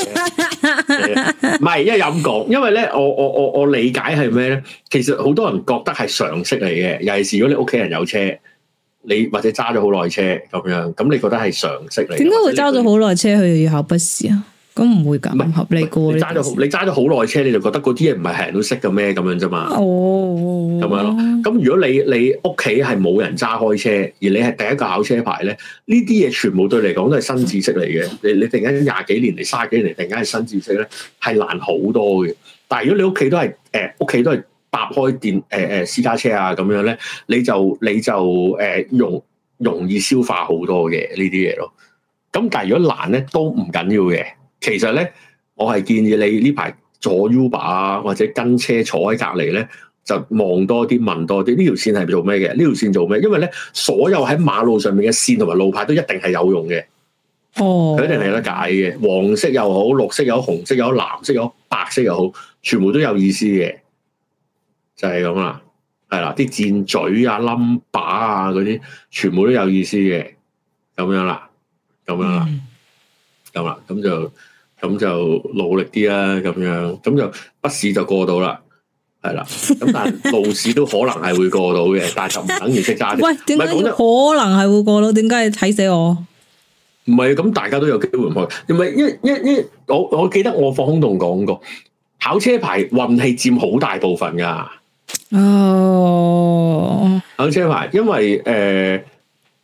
唔係，因為咁講，因為咧，我我我我理解係咩咧？其實好多人覺得係常識嚟嘅，尤其是如果你屋企人有車，你或者揸咗好耐車咁樣，咁你覺得係常識嚟？點解會揸咗好耐車，佢又要考筆試啊？咁唔會咁唔合理噶？ 你揸咗你揸咗好耐車，你就覺得嗰啲嘢唔係係人都識嘅咩？咁樣啫嘛。哦，咁樣咯。咁如果你你屋企係冇人揸開車，而你係第一個考車牌咧，呢啲嘢全部對你嚟講都係新知識嚟嘅。你你突然間廿幾年嚟、卅幾年嚟，突然間係新知識咧，係難好多嘅。但係如果你屋企都係誒屋企都係搭開電誒誒、呃、私家車啊咁樣咧，你就你就誒、呃、容容易消化好多嘅呢啲嘢咯。咁但係如果難咧，都唔緊要嘅。其實咧，我係建議你呢排坐 Uber 啊，或者跟車坐喺隔離咧，就望多啲、問多啲。呢條線係做咩嘅？呢條線做咩？因為咧，所有喺馬路上面嘅線同埋路牌都一定係有用嘅。哦，佢一定係有得解嘅。黃色又好，綠色又好，紅色又好，藍色又好，白色又好，全部都有意思嘅。就係咁啦，係啦，啲箭嘴啊、number 啊嗰啲，全部都有意思嘅。咁樣啦，咁樣啦。嗯咁啦，咁就咁就努力啲啦，咁樣咁就筆試就過到啦，係啦。咁但係路試都可能係會過到嘅，但係就唔等於識揸。 喂，點解可能係會過到？點解你睇死我？ 唔係，咁大家都有機會唔去。唔係，因因因我我記得我放空洞講過，考車牌運氣佔好大部分噶。哦，考車牌，因為誒。呃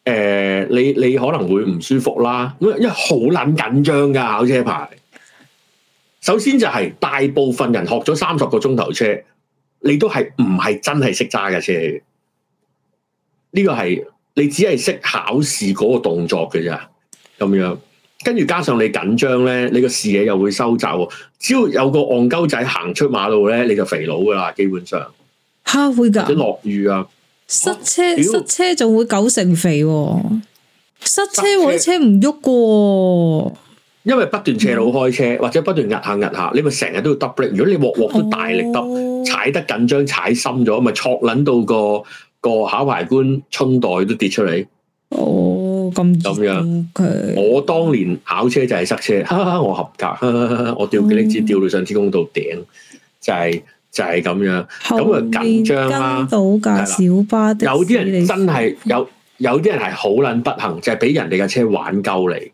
呃，你你可能會唔舒服啦，因為因為好撚緊張㗎考車牌。首先就係大部分人學咗三十個鐘頭車，你都係唔係真係識揸嘅車嘅。呢個係你只係識考試嗰個動作嘅咋，咁樣。跟住加上你緊張咧，你個視野又會收窄。只要有個戇鳩仔行出馬路咧，你就肥佬噶啦，基本上。 嚇會㗎？或者落雨啊， 塞車塞車仲會九成肥喎，塞車喎啲車唔喐嘅。因為不斷斜路開車，嗯、或者不斷壓下壓下，你咪成日都要 double brake。如果你鑊鑊都大力揼，哦、踩得緊張，踩深咗，咪挫撚到個個考牌官春袋都跌出嚟。哦，咁咁樣。Okay. 我當年考車就係塞車，哈哈我合格，哈哈我吊幾粒子吊到上天公度頂，就係、是、就係、是、咁樣。咁啊緊張啦，到架小巴的。有啲人真係有，有啲人係好撚不幸，就係、是、俾人哋架車玩鳩你。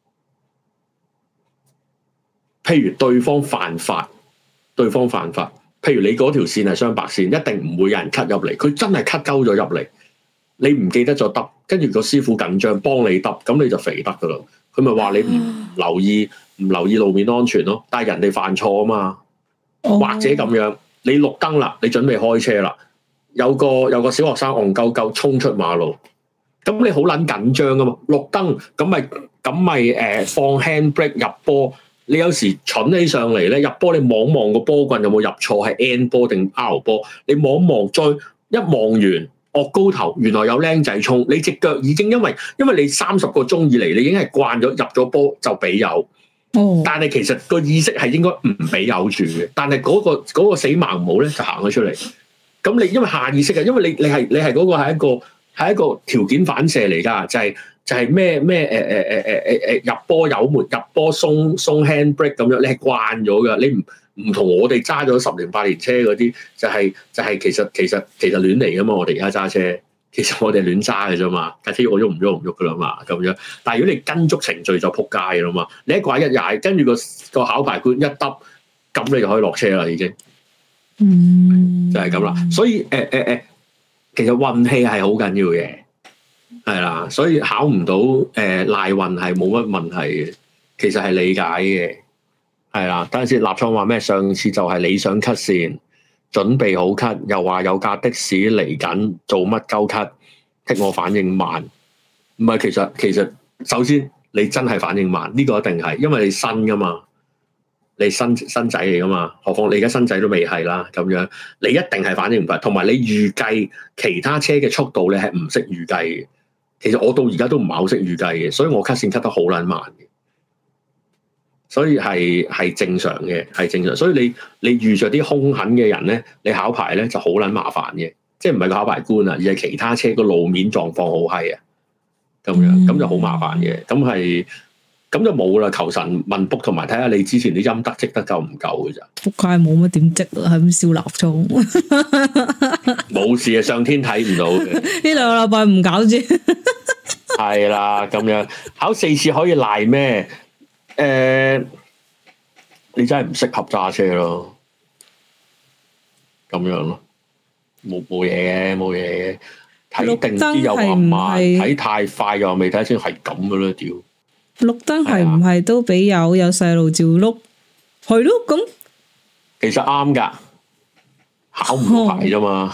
譬如對方犯法，對方犯法，譬如你嗰條線係雙白線，一定唔會有人 cut 入嚟，佢真係 cut 鳩咗入嚟，你唔記得咗揼，跟住個師傅緊張幫你揼，咁你就肥得噶啦。佢咪話你唔留意唔留意路面安全咯，但係人哋犯錯啊嘛，哦、或者咁樣，你綠燈啦，你準備開車啦，有個有個小學生戇鳩鳩衝出馬路，咁你好撚緊張噶嘛，綠燈咁咪咁咪誒放 handbrake 入波。你有時蠢起上嚟咧，入波你望望個波棍有冇入錯，係 N 波定 R 波？你望望再一望完，惡高頭，原來有僆仔衝，你隻腳已經因為因為你三十個鐘以嚟，你已經係慣咗入咗波就俾油。哦，但係其實個意識係應該唔俾油住嘅，但係嗰、嗰個嗰個死盲毛咧就行咗出嚟。咁你因為下意識啊，因為你你係你係嗰個係一個係一個條件反射嚟㗎，就係、係。就係咩咩誒誒誒誒誒誒入波油門入波鬆鬆 handbrake 咁樣，你係慣咗㗎，你唔唔同我哋揸咗十年八年車嗰啲，就係、是、就係、是、其實其實其實亂嚟㗎嘛，我哋而家揸車，其實我哋亂揸嘅啫嘛，架車我喐唔喐唔喐㗎啦嘛，咁樣。但係如果你跟足程序就撲街㗎啦嘛，你一拐一踩，跟住個個考牌官一揼，咁你就可以落車啦已經。嗯，就係咁啦。所以誒誒誒，其實運氣係好緊要嘅。係啦，所以考唔到誒賴運係冇乜問題嘅，其實係理解嘅。係啦，等陣先。立創話咩？上次就係你想 cut 線，準備好 cut，又話有架的士嚟緊，做乜鳩 cut？剔我反應慢，唔係其實其實首先你真係反應慢，呢個一定係，因為你新噶嘛，你新新仔嚟噶嘛，何況你而家新仔都未係啦，咁樣你一定係反應唔快，同埋你預計其他車嘅速度你係唔識預計嘅。其實我到而家都唔係好識預計嘅，所以我 cut 線 cut 得好撚慢嘅，所以係係正常嘅，係正常。所以你你遇着啲兇狠嘅人咧，你考牌咧就好撚麻煩嘅，即係唔係個考牌官啊，而係其他車個路面狀況好閪啊，咁樣咁就好麻煩嘅，咁係咁就冇啦。求神問卜同埋睇下你之前啲陰德積得夠唔夠嘅咋？仆街冇乜點積啊，係咁燒蠟燭，冇事啊，上天睇唔到嘅。呢兩個禮拜唔搞住。係啦，咁樣考四次可以賴咩？誒、呃，你真係唔適合揸車咯，咁樣咯，冇冇嘢嘅，冇嘢嘅，睇定啲又話慢，睇太快又未睇清，係咁噶啦，屌！綠燈係唔係都俾有有細路照碌？係咯，咁其實啱噶，考唔到牌啫嘛，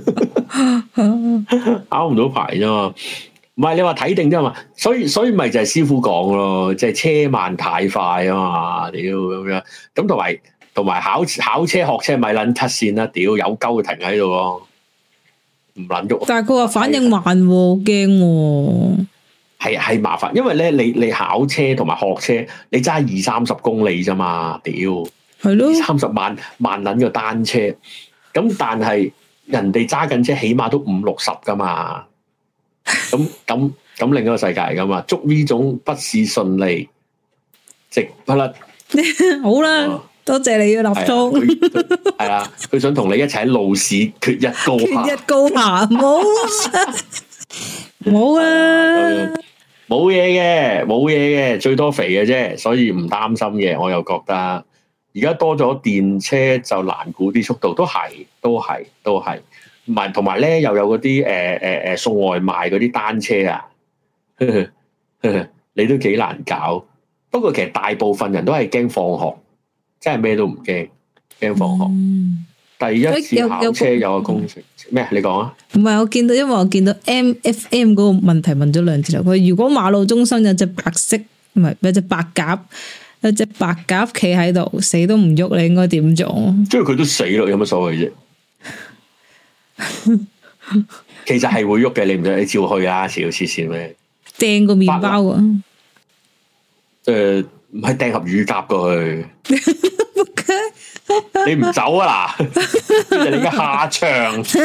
考唔到牌啫嘛。唔係你話睇定啫嘛，所以所以咪就係師傅講咯，即係車慢太快啊嘛，屌咁樣，咁同埋同埋考考車學車咪撚 cut 線啦，屌有鳩停喺度咯，唔撚喐。但係佢話反應慢喎，驚喎。係係麻煩，因為咧你你考車同埋學車，你揸二三十公里啫嘛，屌係咯，二三十萬萬撚個單車，咁但係人哋揸緊車起碼都五六十噶嘛。咁咁咁另一個世界嚟噶嘛？祝呢種不是順利，直不甩。好啦，哦、多謝你嘅立倉。係啊，佢想同你一齊喺路試決一高下。決一高下，冇冇啊！冇嘢嘅，冇嘢嘅，最多肥嘅啫，所以唔擔心嘅。我又覺得而家多咗電車就難估啲速度，都係，都係，都係。唔係，同埋咧又有嗰啲誒誒誒送外賣嗰啲單車啊， 你都幾難搞。不過其實大部分人都係驚放學，真係咩都唔驚，驚放學。嗯、第一次考車有個工程咩？你講啊？ 唔係我見到，因為我見到 M F M 嗰個問題問咗兩次啦。佢如果馬路中心有隻白色，唔係有隻白鴿，有隻白鴿企喺度，死都唔喐，你應該點做？ 即係佢都死咯，有乜所謂啫？其實係會喐嘅，你唔使你照去啊！遲到黐線咩？掟個麵包啊！ 誒，唔係掟盒乳鴿過去。你唔走啊嗱？你而家下場車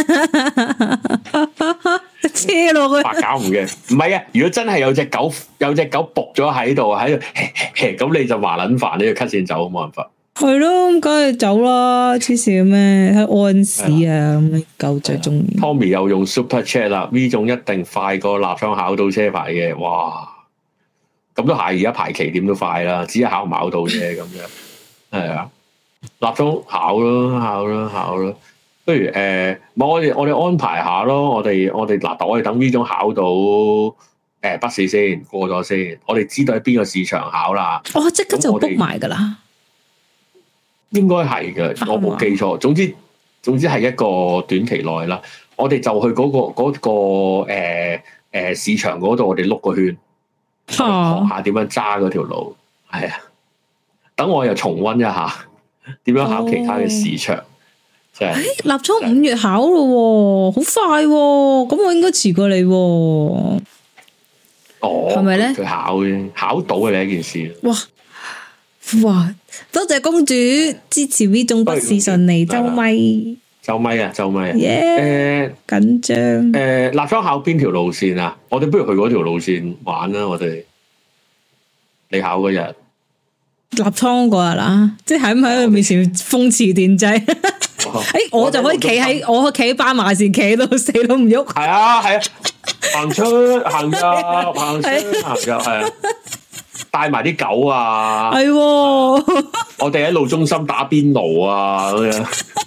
落去。 白搞唔嘅，唔係啊！如果真係有隻狗，有隻狗仆咗喺度，喺度咁你就麻撚煩，你要 cut 線走，冇辦法。 係咯，梗係走啦，黐線咩？喺安市啊，咁樣狗最中意。 Tommy 又用 Super Chat 啦，呢種一定快過立倉考到車牌嘅，哇！咁都係，而家排期點都快啦，只係考唔考到啫，咁樣係啊。立倉考咯，考咯，考咯。不如誒，呃、我哋我哋安排下咯，我哋我哋嗱，我哋等呢種考到誒筆試先過咗先，我哋知道喺邊個市場考啦。 哦，即刻就 book 埋噶啦。 應該係嘅，我冇記錯。總之總之係一個短期內啦。我哋就去嗰、嗰個嗰、嗰個誒誒、呃呃、市場嗰度，我哋碌個圈，學下點樣揸嗰條路。係啊，等我又重溫一下點樣考其他嘅市場。哦、就係、是、 立倉五月考咯，好快喎！咁我應該遲過你喎。哦，係咪咧？ 佢考嘅，考到嘅呢一件事。哇哇！多謝公主支持呢種筆試順利，周咪周咪啊，周咪啊， 誒緊張誒，立倉考邊條路線啊？我哋不如去嗰條路線玩啦！我哋你考嗰日立倉嗰日啦，即係喺唔喺佢面前風馳電掣？誒，我就可以企喺我企喺斑馬線，企到死都唔喐。係啊係啊，行出行入行出行入係啊。帶埋啲狗啊，係、啊，我哋喺路中心打邊爐啊，咁樣，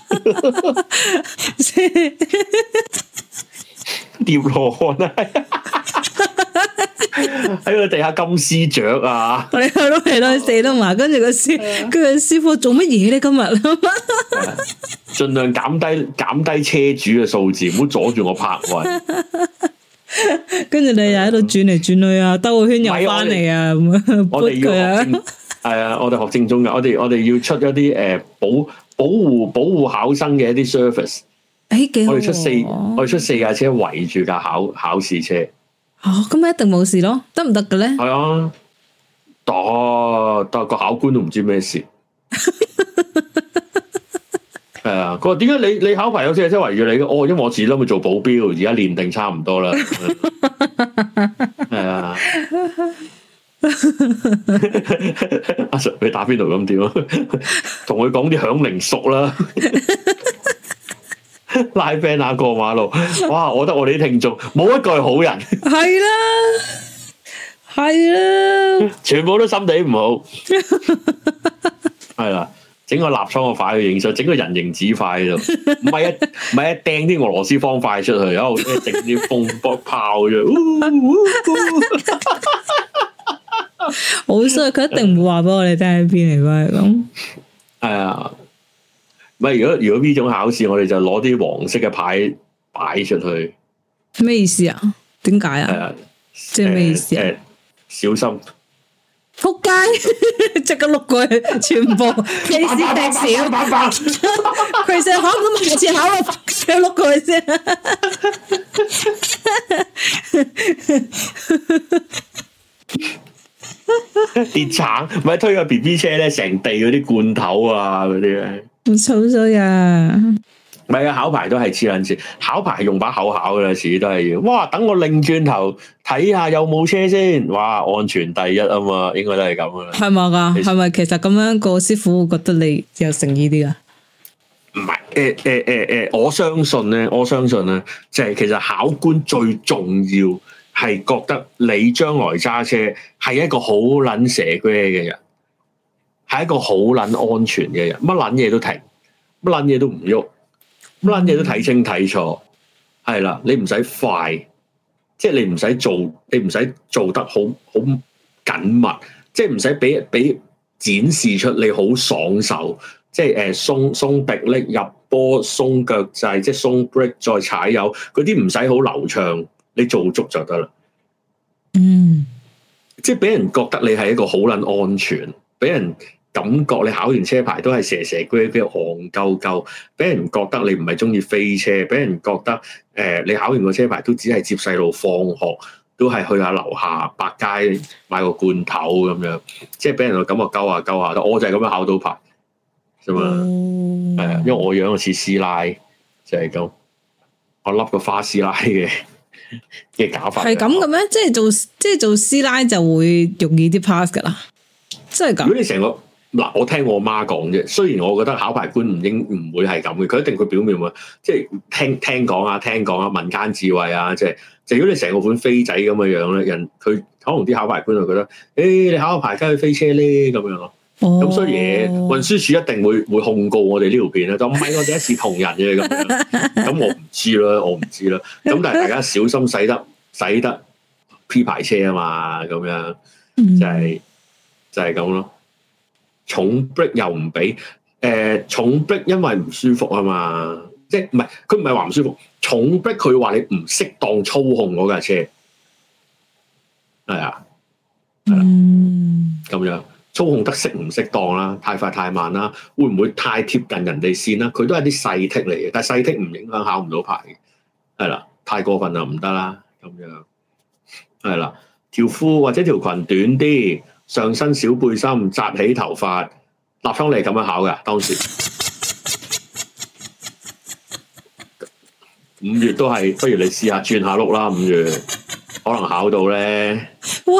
疊羅漢啊，喺個地下金絲雀啊， 我哋去到嚟到死都埋，跟住個師，跟住師傅做乜嘢咧？今日盡量減低減低車主嘅數字，唔好阻住我泊位。 跟住你又喺度轉嚟轉去啊，兜個圈又翻嚟啊，咁樣我哋要學正，係啊，我哋學正宗嘅，我哋我哋要出一啲誒保保護保護考生嘅一啲 service。 誒，幾好！ 我哋出四我哋出四架車圍住架考考試車。 哦，咁咪一定冇事咯，得唔得嘅咧？ 係啊，得得個考官都唔知咩事。係啊，佢話點解你你考牌有四架車圍住你嘅？哦，因為我自己諗去做保鏢，而家練定差唔多啦。係啊，阿 Sir 你打邊爐咁點啊？同佢講啲響鈴熟啦，拉 band 啊過馬路。哇！我覺得我哋啲聽眾冇一個係好人。 係啦，係啦， 全部都心地唔好。係啦。整個立倉個塊去影相，整個人形紙塊喺度，唔係啊，唔係啊，掟啲俄羅斯方塊出去，然後整啲風波炮啫， 好衰，佢一定唔會話俾我哋聽喺邊嚟嘅咁。 係啊，唔係如果如果呢種考試，我哋就攞啲黃色嘅牌擺出去， 咩意思啊？點解啊？ 啊即係咩意思啊？ 呃呃、小心！ 仆街，即刻碌過去，全部 case 踢少，佢成考咁目前考啊，佢碌過去先。 跌橙，咪推個 B B 車咧，成地嗰啲罐頭啊，嗰啲咧， 好醜衰啊！ 唔係啊，考牌都係黐撚線，考牌用把口考噶啦，始都係要。哇，等我擰轉頭睇下有冇車先。哇，安全第一啊嘛，應該都係咁噶啦。 係咪噶？係咪其實咁樣個師傅會覺得你有誠意啲啊？ 唔係，誒誒誒誒，我相信咧，我相信咧，就係、是、其實考官最重要係覺得你將來揸車係一個好撚蛇龜嘅人，係一個好撚安全嘅人，乜撚嘢都停，乜撚嘢都唔喐。乜撚嘢都睇清睇楚，係啦，你唔使快， 即係你唔使做，你唔使做得好好緊密，即係唔使俾俾展示出你好爽手，即係誒鬆鬆迫力入波、鬆腳掣，即係鬆 break 再踩油嗰啲唔使好流暢，你做足就得啦。 嗯， 即係俾人覺得你係一個好撚安全，俾人感覺你考完車牌都係蛇蛇龜龜戇鳩鳩，俾人覺得你唔係中意飛車，俾人覺得誒、呃、你考完個車牌都只係接細路放學，都係去下樓下百佳買個罐頭咁樣，即係俾人個感覺鳩下鳩下。我就係咁樣考到牌啫嘛，係啊、嗯，因為我樣似師奶就係、是、咁，我笠個花師奶嘅嘅假髮係咁嘅咩？即係做即係做師奶就會容易啲 pass 噶啦，真係咁。如果你成個嗱，我聽我媽講啫。雖然我覺得考牌官唔應唔會係咁嘅，佢一定佢表面會即係聽聽講啊，聽講啊，民間智慧啊，即係就如果你成個款飛仔咁嘅樣咧，人佢可能啲考牌官就覺得，誒、欸、你考個牌梗係飛車咧咁樣咯。咁、哦、所以嘢運輸署一定會會控告我哋呢條片咧，就唔係我哋一視同仁嘅咁樣。咁我唔知啦，我唔知啦。咁但係大家小心使得使得 P 牌車啊嘛，咁樣就係、是、就係、是、咁咯。重 break 又唔俾，誒、呃、重 break 因為唔舒服啊嘛，即係唔係佢唔係話唔舒服，重 break 佢話你唔適當操控嗰架車，係啊，係啦，咁樣操控得適唔適當啦，太快太慢啦，會唔會太貼近人哋線啦？佢都係啲細剔嚟嘅，但係細剔唔影響考唔到牌嘅，係啦，太過分就唔得啦，咁樣係啦，條褲或者條裙短啲。上身小背心，紮起頭髮，立倉你係咁樣考噶？當時五月都係，不如你試下轉下碌啦。五月可能考到咧。哇！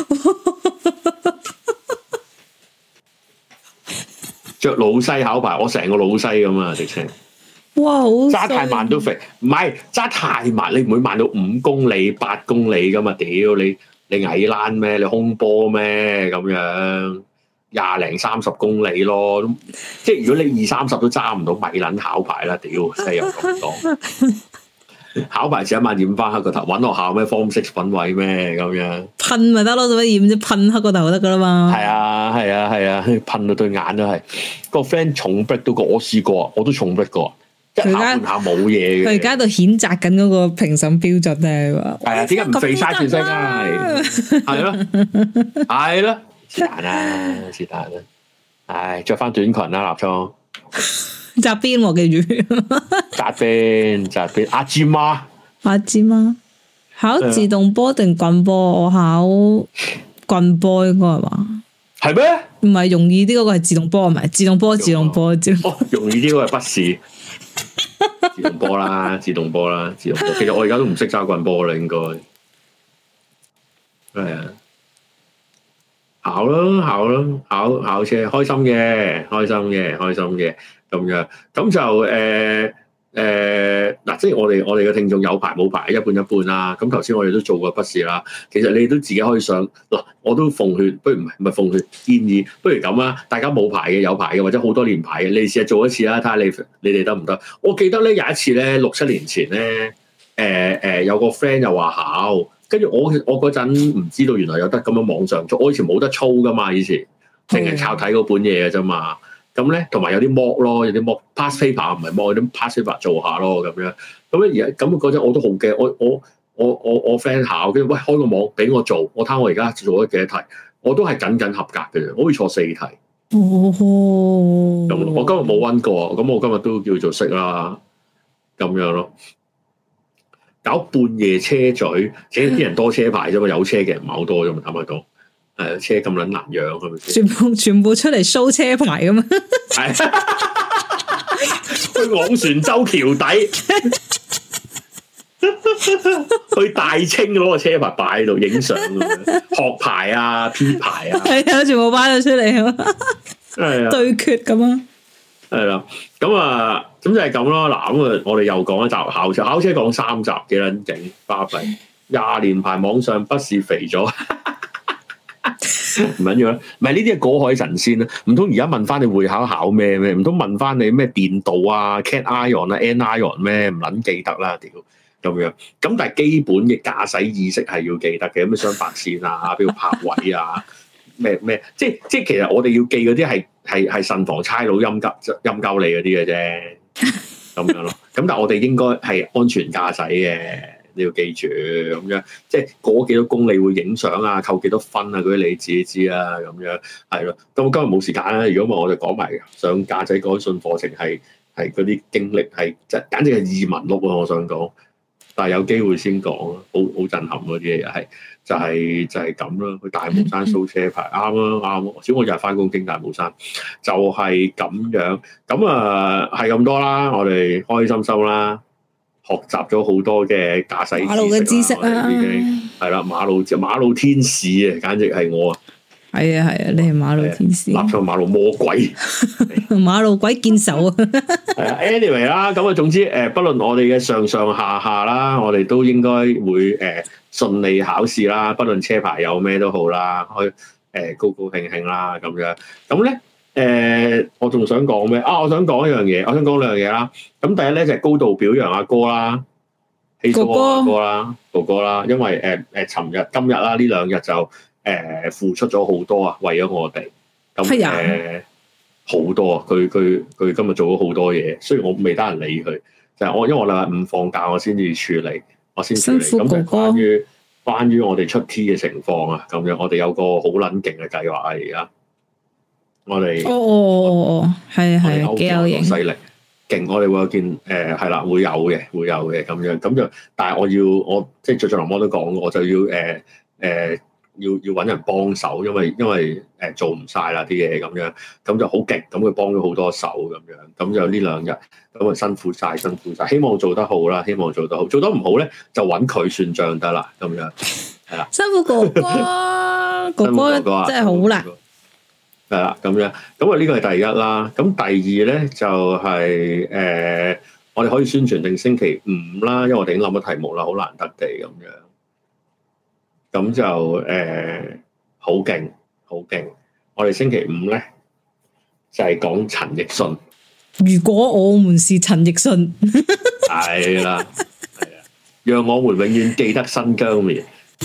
着老西考牌，我成個老西咁啊！直情哇，好揸太慢都肥，唔係揸太慢，你唔會慢到五公里、八公里噶嘛？屌你！你矮欄咩？你空波咩？咁樣廿零三十公里咯，即係如果你二三十都揸唔到，咪撚考牌啦！屌，真係有咁講。考牌前一晚染翻黑個頭，揾學校咩 form six 粉位咩咁樣？噴咪得咯，做乜染啫？噴黑個頭得噶啦嘛。 係啊，係啊，係啊，噴到對眼都係。個 friend 重 break 到個，我試過，我都重 break 過。一下半下冇嘢嘅， 佢而家喺度譴責緊嗰個評審標準咧，話係啊，點解唔肥晒全世界？係咯，係咯，是但啦，是但啦，唉，着翻短裙啦，立倉紮邊喎，記住紮邊紮邊，阿芝媽， 阿芝媽考自動波定棍波？我考棍波應該係嘛？ 係咩？ 唔係容易啲嗰個係自動波，唔係自動波，自動波，自動波。 哦，容易啲嗰個係筆試。自動波啦，自動波啦，自動波。其實我而家都唔識揸棍波啦，應該係啊。考咯，考咯，考考車，開心嘅，開心嘅，開心嘅，咁樣，咁就誒。呃誒嗱、呃，即係我哋我哋嘅聽眾有牌冇牌一半一半啦。咁頭先我哋都做過筆試啦。其實你都自己可以上嗱，我都奉勸，不如唔係唔係奉勸建議，不如咁啦。大家冇牌嘅有牌嘅或者好多年牌嘅，你試下做一次啦，睇下你你哋得唔得？我記得咧有一次咧六七年前咧，誒、呃、誒、呃、有個 friend 又話考，跟住我我嗰陣唔知道原來有得咁樣網上做，我以前冇得操噶嘛，以前淨係靠睇嗰本嘢嘅啫嘛。咁咧，同埋有啲 mock 咯，有啲 mock pass paper 唔係 mock，有啲 pass paper 做下咯，咁樣。咁咧而家咁嗰陣我都好驚，我我我我我 friend 考，跟住喂開個網俾我做，我睇我而家做咗幾多題，我都係僅僅合格嘅啫，我可以錯四題。哦，咁我今日冇溫過，咁我今日都叫做識啦，咁樣咯。搞半夜車嘴，其實啲人多車牌啫嘛，有車嘅人唔係好多啫嘛，坦白講。係啊，車咁撚難養，係咪先？全部全部出嚟 show 車牌咁嘛？係去昂船洲橋底，去大清攞個車牌擺喺度影相，學牌啊、P 牌啊，係啊，全部擺咗出嚟啊！係啊，對決咁啊！係啦，咁啊，咁就係咁咯。嗱，咁啊，我哋又講一集考車，考車講三集，幾撚勁，巴閉廿年牌網上筆試肥咗。唔緊要啦，唔係呢啲係果海神仙啦，唔通而家問翻你會考考咩咩？唔通問翻你咩電導啊、cat ion 啊、n ion 咩？唔捻記得啦，屌！ 咁樣。咁但係基本嘅駕駛意識係要記得嘅，咩雙白線啊，邊度泊位啊，咩咩，即係即係其實我哋要記嗰啲係係係慎防差佬陰鳩陰鳩你嗰啲嘅啫，咁樣咯。咁但係我哋應該係安全駕駛嘅。你要記住咁樣，即係過幾多公里會影相啊，扣幾多分啊，嗰啲你自己知啊，咁樣係咯。咁今日冇時間啦，如果唔係我哋講埋上駕駛改訓課程係係嗰啲經歷係即係簡直係異聞錄啊！我想講，但係有機會先講咯，好好震撼嗰啲嘢係就係就係咁啦。去大帽山掃車牌啱啊啱啊！小我日日翻工經大帽山，就係咁樣。咁啊係咁多啦，我哋開開心心啦。學習咗好多嘅駕駛馬路嘅知識啦， 已經係啦，馬路馬路天使啊，簡直係我啊！ 係啊係啊，你係馬路天使， 立上馬路魔鬼， 馬路鬼見首啊！ 係啊 ，anyway 啦，咁啊，總之誒，不論我哋嘅上上下下啦，我哋都應該會誒順利考試啦，不論車牌有咩都好啦，開誒高高興興啦咁樣，咁咧。誒、呃，我仲想講咩啊？我想講一樣嘢，我想講兩樣嘢啦。咁第一咧就係、是、高度表揚阿哥啦，希蘇阿哥啦，哥哥啦，因為誒誒，尋、呃、日今日啦，呢兩日就誒、呃、付出咗好多啊，為咗我哋。咁誒好多啊！佢佢佢今日做咗好多嘢，雖然我未得閒理佢，就係、是、我因為我禮拜五放假，我先至處理，我先處理。咁就關於關於我哋出 T 嘅情況啊，咁樣我哋有個好撚勁嘅計劃啊，而家。我哋哦哦哦哦，係係幾有型， 犀利勁！我哋會有件誒係啦，會有嘅，會有嘅咁樣咁就，但係我要我即係最最林哥都講，我就要誒誒、呃呃、要要揾人幫手，因為因為誒、呃、做唔晒啦啲嘢咁樣，咁就好勁，咁佢幫咗好多手咁樣，咁就呢兩日咁啊辛苦晒，辛苦晒，希望做得好啦，希望做得好，做得唔好咧就揾佢算賬得啦，咁樣係啦， 辛苦哥哥，哥哥真係好難。 係啦，咁樣咁啊，呢個係第一啦。咁第二咧就係、是、誒、呃，我哋可以宣傳定星期五啦，因為我哋已經諗咗題目啦，好難得地咁樣。咁就誒好勁，好、呃、勁！我哋星期五咧就係、是、講陳奕迅。 如果我們是陳奕迅， 係啦，係啊，讓我們永遠記得新疆棉。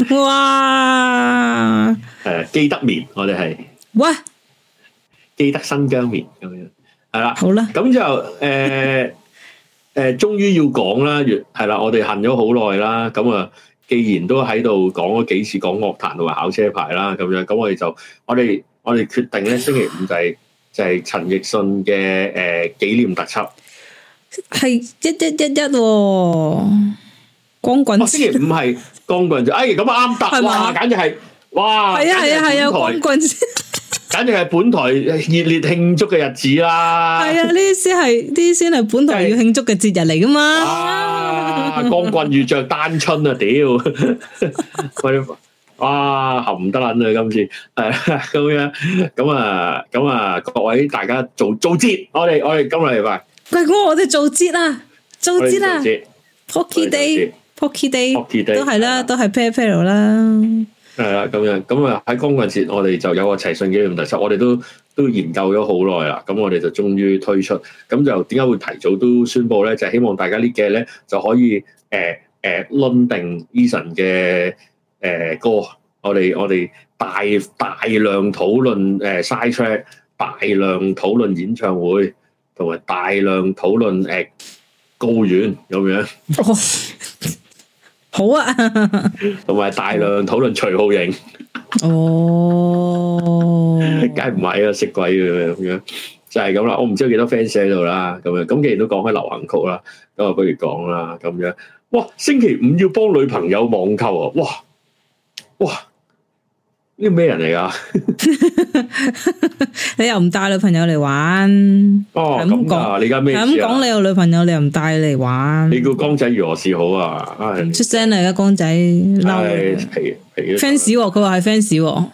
哇！ 誒，記得棉，我哋係哇！ 記得新疆棉咁樣，係啦， 好啦， 咁就誒誒，終於要講啦，越係啦，我哋恨咗好耐啦，咁啊，既然都喺度講咗幾次講樂壇同埋考車牌啦，咁樣，咁我哋就我哋我哋決定咧，星期五就係、是、就係、是、陳奕迅嘅誒紀念特輯，係一一一一、哦，光棍、哦，星期五係光棍節，哎，咁啊啱答，哇，簡直係，哇， 係啊係啊係啊，光棍節。 簡直係本台熱烈慶祝嘅日子啦！係啊， 呢啲先係呢啲先係本台要慶祝嘅節日嚟噶嘛！ 啊，光棍遇着單春啊！屌，哇，含唔得撚啊！今次係咁樣，咁啊，咁啊，各位大家做做節，我哋我哋今日禮拜， 喂，我我哋做節啊，做節啊 ，Pocky Day，Pocky Day 都係啦，都係 pair pair 啦。 係啦，咁樣咁啊喺光棍節，我哋就有個齊信紀念特輯，我哋都都研究咗好耐啦。咁我哋就終於推出，咁就點解會提早都宣佈咧？就係、是、希望大家呢幾日咧就可以誒誒論定 Eason 嘅誒歌，我哋我哋大大量討論誒 side track，大量討論演唱會，同埋大量討論誒高院咁樣。 好啊， 同埋大量討論徐浩瑩。 哦， 梗係唔係啊，識鬼嘅咁樣，就係咁啦。我唔知有幾多 fans 喺度啦，咁樣咁既然都講開流行曲啦，咁啊不如講啦，咁樣。哇，星期五要幫女朋友網購啊！哇哇，呢個咩人嚟噶？你又唔帶女朋友嚟玩？ 哦， 咁講，你而家咩？ 咁講你有女朋友，你又唔帶嚟玩？ 你叫江仔如何是好啊？ 唔出聲嚟噶，江仔嬲。 皮皮 fans，佢話係 fans。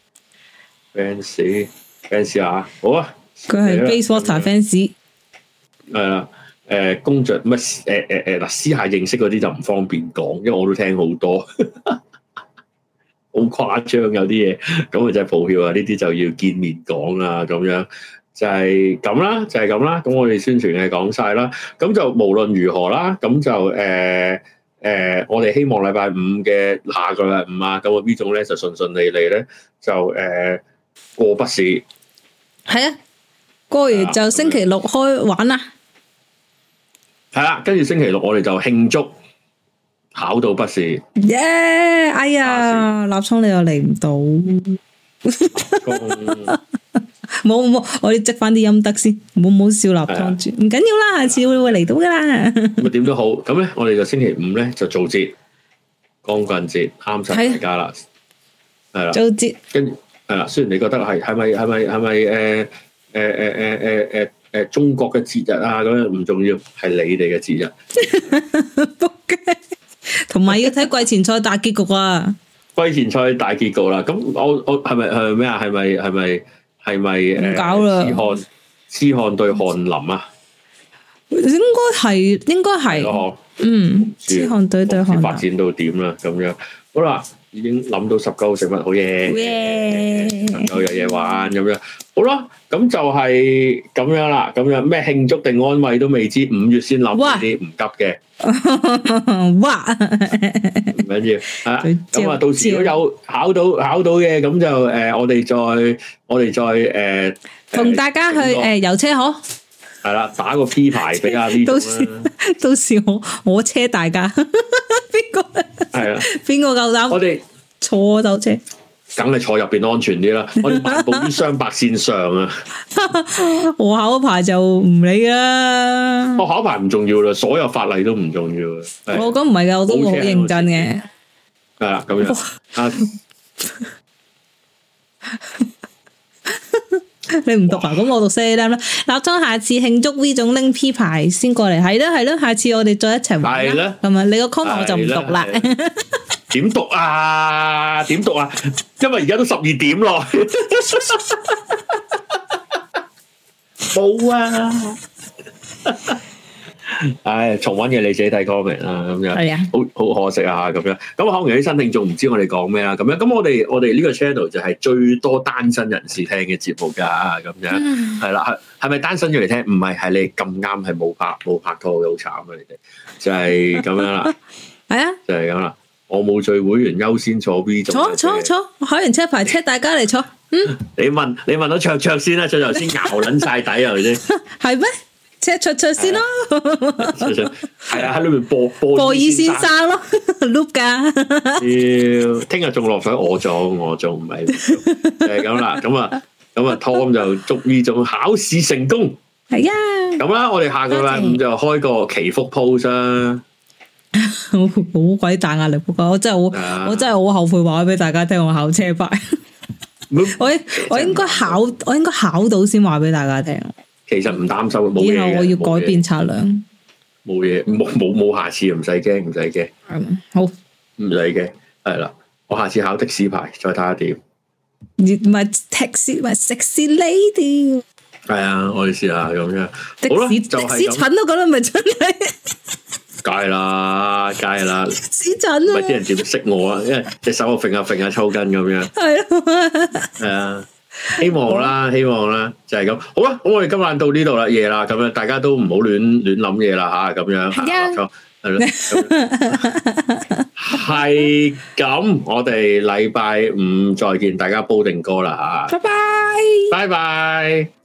fans fans 啊，好啊。 佢係 Basewater fans。係啦，誒，工作乜？誒誒誒，嗱，私下認識嗰啲就唔方便講，因為我都聽好多。好誇張有啲嘢，咁啊真係抱歉啊！呢啲就要見面講啦，咁樣就係咁啦，就係咁啦。咁我哋宣傳嘅講晒啦，咁就無論如何啦，咁就誒誒，我哋希望禮拜五嘅下個禮拜五啊，咁啊 V 總咧就順順利利咧就誒、呃、過筆試。 係啊，過完就星期六開玩啦。 係啦，跟住星期六我哋就慶祝考到筆試。 耶！哎呀，立聰你又嚟唔到。冇冇，我哋積翻啲陰德先，唔好唔好笑立湯住，唔緊要啦，下次會會嚟到噶啦。 咁啊點都好，咁咧我哋就星期五咧就做節，光棍節啱晒大家啦，係啦。做節，跟住係啦，雖然你覺得係係咪係咪係咪誒誒誒誒誒誒誒中國嘅節日啊咁樣唔重要，係你哋嘅節日。仆街， 同埋要睇季前賽大結局啊！ 季前賽大結局啦，咁我我係咪係咩啊？係咪係咪？係咪誒？ 搞啦！ 痴漢痴漢對翰林啊？ 應該係，應該係。嗯，痴漢對對翰林發展到點啦？咁樣好啦，已經諗到十九食物好嘢，能夠有嘢玩咁樣。好啦，咁就係咁樣啦。咁樣咩慶祝定安慰都未知，五月先諗呢啲唔急嘅。 哇！ 唔緊要啊，咁啊，到時如果有考到考到嘅，咁就誒，我哋再我哋再誒， 同大家去誒遊車河。 係啦，打個 P 牌俾阿 V 總啦。到時到時我我車大家，邊個？係啊，邊個夠膽？我哋坐斗車。 梗係坐入邊安全啲啦，我哋漫步於雙白線上啊！ 我考牌就唔理啦， 我考牌唔重要啦，所有法例都唔重要啊！ 我講唔係噶，我都好認真嘅。 係啦，咁樣啊， 你唔讀啊？咁我讀四啦。立聰下次慶祝 V 總拎 P 牌先過嚟，係咯係咯，下次我哋再一齊玩啦。係咪？你個 comment 我就唔讀啦。 點讀啊？點讀啊？因為而家都十二點咯，冇啊！唉，重溫嘅你自己睇 comment 啦，咁樣係啊，好好可惜啊，咁樣咁可能有啲新聽眾唔知我哋講咩啦，咁樣咁我哋我哋呢個 channel 就係最多單身人士聽嘅節目噶，咁樣係啦，係係咪單身咗嚟聽？唔係，係你咁啱係冇拍冇拍拖，好慘啊！你哋就係咁樣啦，係啊，就係咁啦。我冇聚會員優先坐 B 組， 坐坐坐，我考完車牌車大家嚟坐。嗯， 你問你問到卓卓先啦，卓卓先熬捻晒底係咪先？ 係咩？車卓卓先咯， 係啊，喺裏面播播播爾先生咯 ，loop 噶。 要聽日仲落水，我做我做唔係，就係咁啦。咁啊咁啊 Tom 就祝 V 總考試成功。係啊，咁啦，我哋下個禮拜五就開個祈福 post 啦。 好鬼大壓力，不過我真係好，啊、我真係好後悔話俾大家聽我考車牌。我我應該考，我應該考到先話俾大家聽。 其實唔擔心，冇嘢。以後我要改變策略。 冇嘢，冇冇冇下次，唔使驚，唔使驚。 好， 唔使驚，係啦。我下次考的士牌，再睇下點。 唔係 taxi，唔係 sexy lady。 係啊，我哋試下咁樣。好啦，就係咁。的士蠢都覺得咪真係。 梗係啦，梗係啦， 屎陣啊！ 唔係啲人點識我啊？因為隻手我揈下揈下抽筋咁樣。係啊，係啊，希望啦，希望啦，就係咁。好啦，咁我哋今晚到呢度啦，夜啦，咁樣大家都唔好亂亂諗嘢啦吓，咁樣吓，冇錯，係咯，係咁。我哋禮拜五再見，大家煲定歌啦吓，拜拜，拜拜。